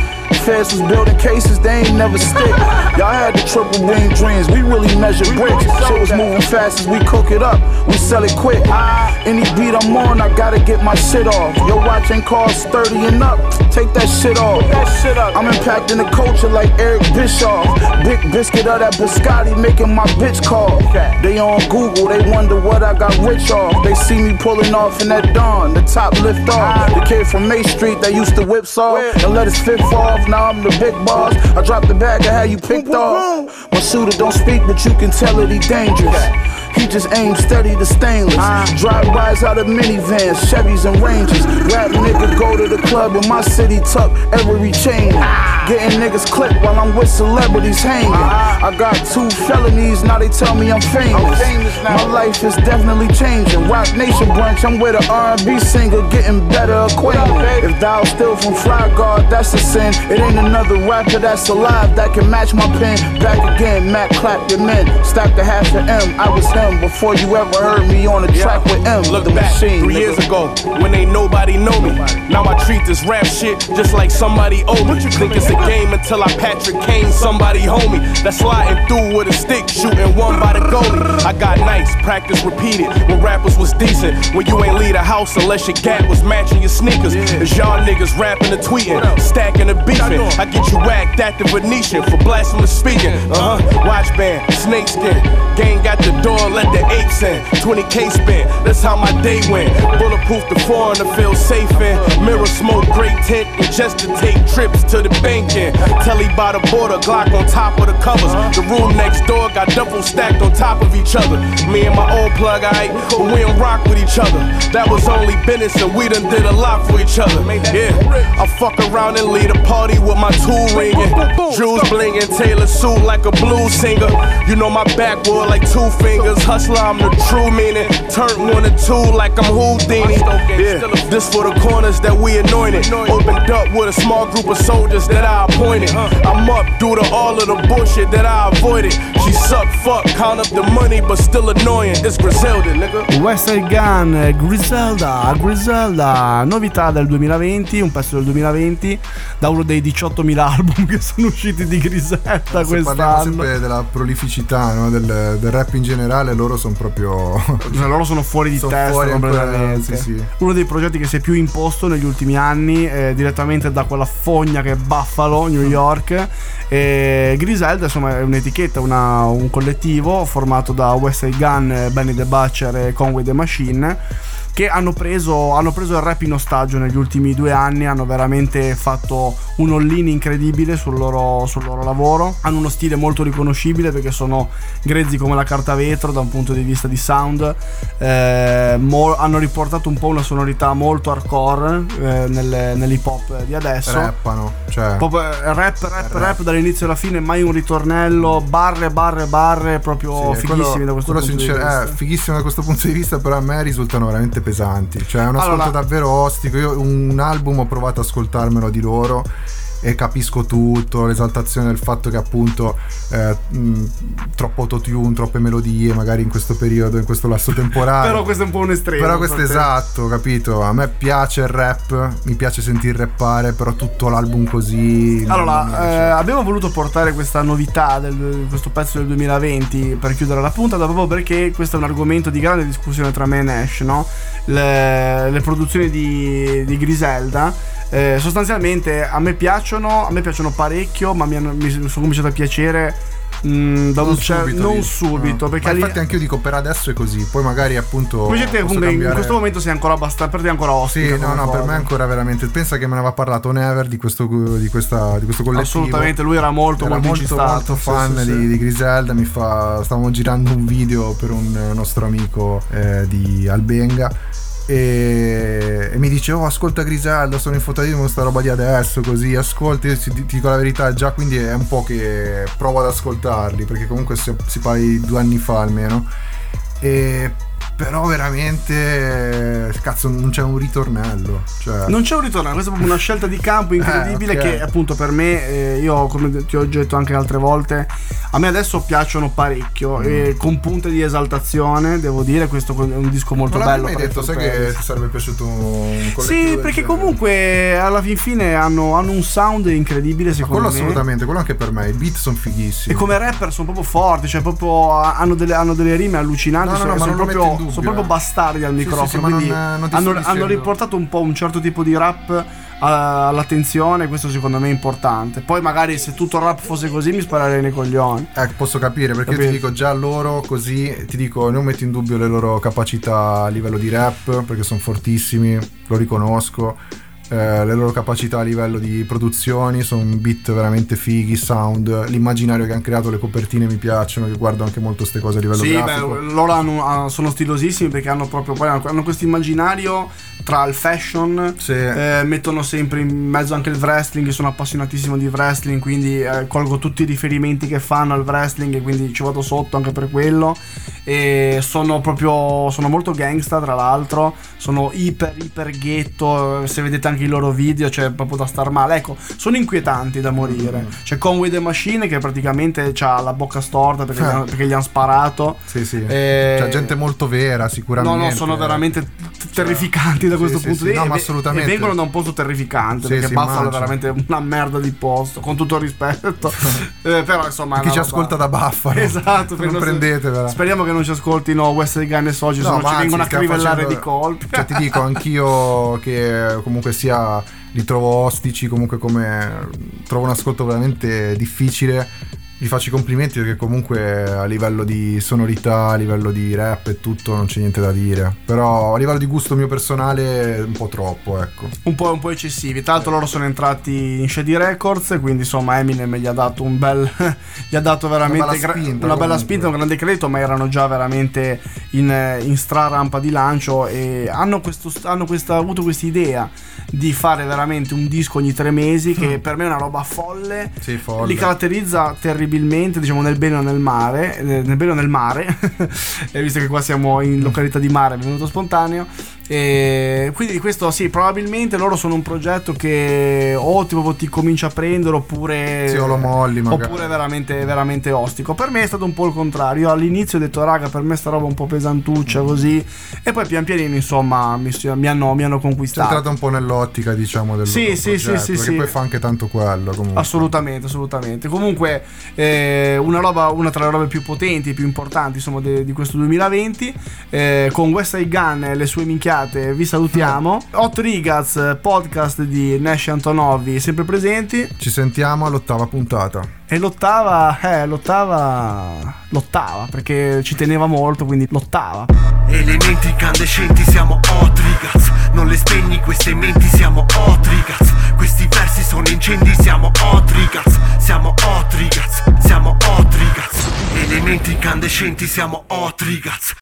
Feds was building cases, they ain't never stick. Y'all had the triple wing dreams, we really measure bricks. Shit was moving fast as we cook it up, we sell it quick. Any beat I'm on, I gotta get my shit off. Your watch ain't cost thirty and up, take that shit off. I'm impacting the culture like Eric Bischoff. Big biscuit of that biscotti making my bitch call. They on Google, they wonder what I got rich off. They see me pulling off in that dawn, the top lift off. The kid from May Street that used to whip saw and let his fifth off. Now I'm the big boss. I dropped the bag and had you picked off. My shooter don't speak, but you can tell that he dangerous. He just aims steady to stainless. Drive-bys out of minivans, Chevys and Rangers. Rap nigga go to the club in my city, tuck every chain. Getting niggas clipped while I'm with celebrities hanging. I got two felonies, now they tell me I'm famous. My life is definitely changing. Rock Nation brunch, I'm with an R and B singer, getting better acquainted. If thou still from Fly Guard, that's a sin. It ain't another rapper that's alive that can match my pen. Back again, Mac clap your men. Stack the half of M, I was him before you ever heard me on the track with M. Look the back machine, three nigga. years ago when ain't nobody know me. Now I treat this rap shit just like somebody owe me. Think it's a game until I Patrick Kane somebody homie that's sliding through with a stick, shooting one by the goalie. I got nice, practice repeated when rappers was decent. When you ain't leave the house unless your gap was matching your sneakers. It's y'all niggas rapping and tweeting, stacking and beefing. I get you whacked at the Venetian for blasphemous speaking. Uh huh. Watch band, snakeskin, gang got the door, let the apes in. twenty K spent, that's how my day went. Bulletproof the foreign to feel safe in. Mirror smoke, great tent, and just to take trips to the bank in. Telly by the border, Glock on top of the covers. The room next door got double stacked on top of each other. Me and my old plug, aight, but we don't rock with each other. That was only business and we done did a lot for each other. Yeah, I fuck around and lead a party with my tool ringing. Jewels blinging, Taylor suit like a blues singer. You know my backboard like two fingers. Hustler, I'm the true meaning. Turn one or two like I'm Houdini. Yeah, this for the corners that we anointed. Opened up with a small group of soldiers that I appointed. I'm up due to all of the bullshit that I avoided. She suck, fuck, count up the money, but still annoying. It's Griselda, nigga. West Side Gun, Griselda, Griselda, novità del duemilaventi, un pezzo del duemilaventi, da uno dei diciottomila album che sono usciti di Griselda quest'anno. Parliamo sempre della prolificità, no? del, del rap in generale, loro sono proprio... Cioè, loro sono fuori di sono testa fuori completamente. Sì, sì. Uno dei progetti che si è più imposto negli ultimi anni, eh, direttamente da quella fogna che è Buffalo, New York. E Griselda, insomma, è un'etichetta, una, un collettivo formato da West Side Gun, Benny the Butcher e Conway the Machine, che hanno preso, hanno preso il rap in ostaggio negli ultimi due anni, hanno veramente fatto un all-in incredibile sul loro, sul loro lavoro, hanno uno stile molto riconoscibile perché sono grezzi come la carta vetro da un punto di vista di sound, eh, mo- hanno riportato un po' una sonorità molto hardcore eh, nel, nell'hip hop di adesso. Rappano, cioè proprio rap, rap, rap, rap dall'inizio alla fine, mai un ritornello, barre, barre, barre, proprio sì, fighissimi quello, da questo punto sincer- di vista. Eh, fighissimo da questo punto di vista, però a me risultano veramente pesanti, cioè è un ascolto allora, davvero ostico. Io un album ho provato ad ascoltarmelo di loro e capisco tutto, l'esaltazione del fatto che appunto eh, mh, troppo autotune, troppe melodie magari in questo periodo, in questo lasso temporale. Però questo è un po' un estremo. Però questo è esatto, capito? A me piace il rap, mi piace sentir rappare, però tutto l'album così. Allora, eh, abbiamo voluto portare questa novità, del, questo pezzo del duemilaventi per chiudere la puntata, proprio perché questo è un argomento di grande discussione tra me e Nash, no? Le, le produzioni di, di Griselda. Eh, sostanzialmente a me piacciono, a me piacciono parecchio, ma mi, hanno, mi sono cominciato a piacere mh, da non un cer- subito, non dico. subito no. perché ma lì... infatti anche io dico per adesso è così, poi magari appunto come dite, cambiare... in questo momento sei ancora abbastanza, per te è ancora ostico. Sì, no, no, per me è ancora veramente. Pensa che me ne aveva parlato Never di questo, di questa, di questo collettivo. Assolutamente, lui era molto era molto, molto, molto fan sì, sì, di, sì. di Griselda. Mi fa, stavamo girando un video per un nostro amico eh, di Albenga E, e mi dice oh ascolta Griselda, sono infotatissimo con sta roba di adesso, così ascolti, ti, ti dico la verità, già quindi è un po' che provo ad ascoltarli, perché comunque si, si parla di due anni fa almeno, e però veramente cazzo non c'è un ritornello, cioè... non c'è un ritornello, questa è proprio una scelta di campo incredibile. eh, okay. Che appunto per me, eh, io come ti ho detto anche altre volte, a me adesso piacciono parecchio, mm. e con punte di esaltazione, devo dire, questo è un disco molto non bello. Non l'avevi detto, sai che ti sarebbe piaciuto un collettivo? Sì, perché comunque alla fin fine hanno, hanno un sound incredibile, secondo quello me. Assolutamente, quello anche per me, i beat sono fighissimi. E come rapper sono proprio forti, cioè proprio hanno delle, hanno delle rime allucinanti, no, no, no, sono, ma non proprio, dubbio, sono proprio bastardi al sì, microfono, sì, sì, quindi non, non hanno, hanno riportato un po' un certo tipo di rap all'attenzione, questo secondo me è importante. Poi magari se tutto il rap fosse così mi sparerei nei coglioni. Eh, posso capire, perché io ti dico già loro così, ti dico non metto in dubbio le loro capacità a livello di rap, perché sono fortissimi, lo riconosco. Eh, le loro capacità a livello di produzioni sono un beat veramente fighi, sound, l'immaginario che hanno creato, le copertine mi piacciono, che guardo anche molto queste cose a livello sì, grafico. Beh, loro hanno, sono stilosissimi perché hanno proprio poi hanno, hanno questo immaginario tra il fashion, sì. eh, mettono sempre in mezzo anche il wrestling, sono appassionatissimo di wrestling, quindi eh, colgo tutti i riferimenti che fanno al wrestling e quindi ci vado sotto anche per quello. E sono proprio sono molto gangsta, tra l'altro, sono iper iper ghetto, se vedete anche i loro video c'è, cioè, proprio da star male. Ecco, sono inquietanti da morire. mm. C'è Conway the Machine che praticamente ha la bocca storta perché, eh. gli, hanno, perché gli hanno sparato. Sì, sì. E... c'è gente molto vera, sicuramente. No, no, sono veramente t- terrificanti da questo sì, punto sì, di vista. No, ma assolutamente. E vengono da un posto terrificante, sì, perché sì, Buffalo immagino. è veramente una merda di posto, con tutto il rispetto. eh, però insomma chi ci ascolta da Buffalo, esatto, non prendetevela. Speriamo che non ci ascoltino West Side Gun e Soci, no, se no ci vengono a crivellare facendo... di colpi. Cioè ti dico, anch'io che comunque sia li trovo ostici, comunque come trovo un ascolto veramente difficile, gli faccio i complimenti perché comunque a livello di sonorità, a livello di rap e tutto non c'è niente da dire, però a livello di gusto mio personale un po' troppo, ecco. Un po', un po' eccessivi. Tra l'altro loro sono entrati in Shady Records, quindi insomma Eminem gli ha dato un bel gli ha dato veramente una bella spinta, una bella spinta, un grande credito, ma erano già veramente in, in strarampa di lancio e hanno, questo, hanno questa, avuto questa idea di fare veramente un disco ogni tre mesi che mm. per me è una roba folle, sì, folle. Li caratterizza terribilmente, diciamo nel bene o nel mare, nel bene o nel mare e visto che qua siamo in località di mare è venuto spontaneo. E quindi questo sì, probabilmente loro sono un progetto che o tipo ti comincia a prendere oppure sì, o lo molli magari. Oppure veramente veramente ostico. Per me è stato un po' il contrario. Io all'inizio ho detto raga, per me sta roba un po' pesantuccia così, e poi pian pianino insomma mi, mi, hanno, mi hanno conquistato. È entrato un po' nell'ottica diciamo del sì, loro sì, progetto, sì, sì, perché sì. poi fa anche tanto quello comunque. Assolutamente, assolutamente. Comunque eh, una roba, una tra le robe più potenti, più importanti insomma de, di questo duemilaventi, eh, con West Side Gun e le sue minchiate vi salutiamo. Hot Rigaz, podcast di Nash e Antonovi sempre presenti. Ci sentiamo all'ottava puntata. E l'ottava, eh, l'ottava l'ottava perché ci teneva molto, quindi l'ottava. Elementi incandescenti, siamo Hot Rigaz. Non le spegni queste menti, siamo Hot Rigaz. Questi versi sono incendi, siamo Hot Rigaz. Siamo Hot Rigaz, siamo Hot Rigaz. Elementi incandescenti, siamo Hot Rigaz.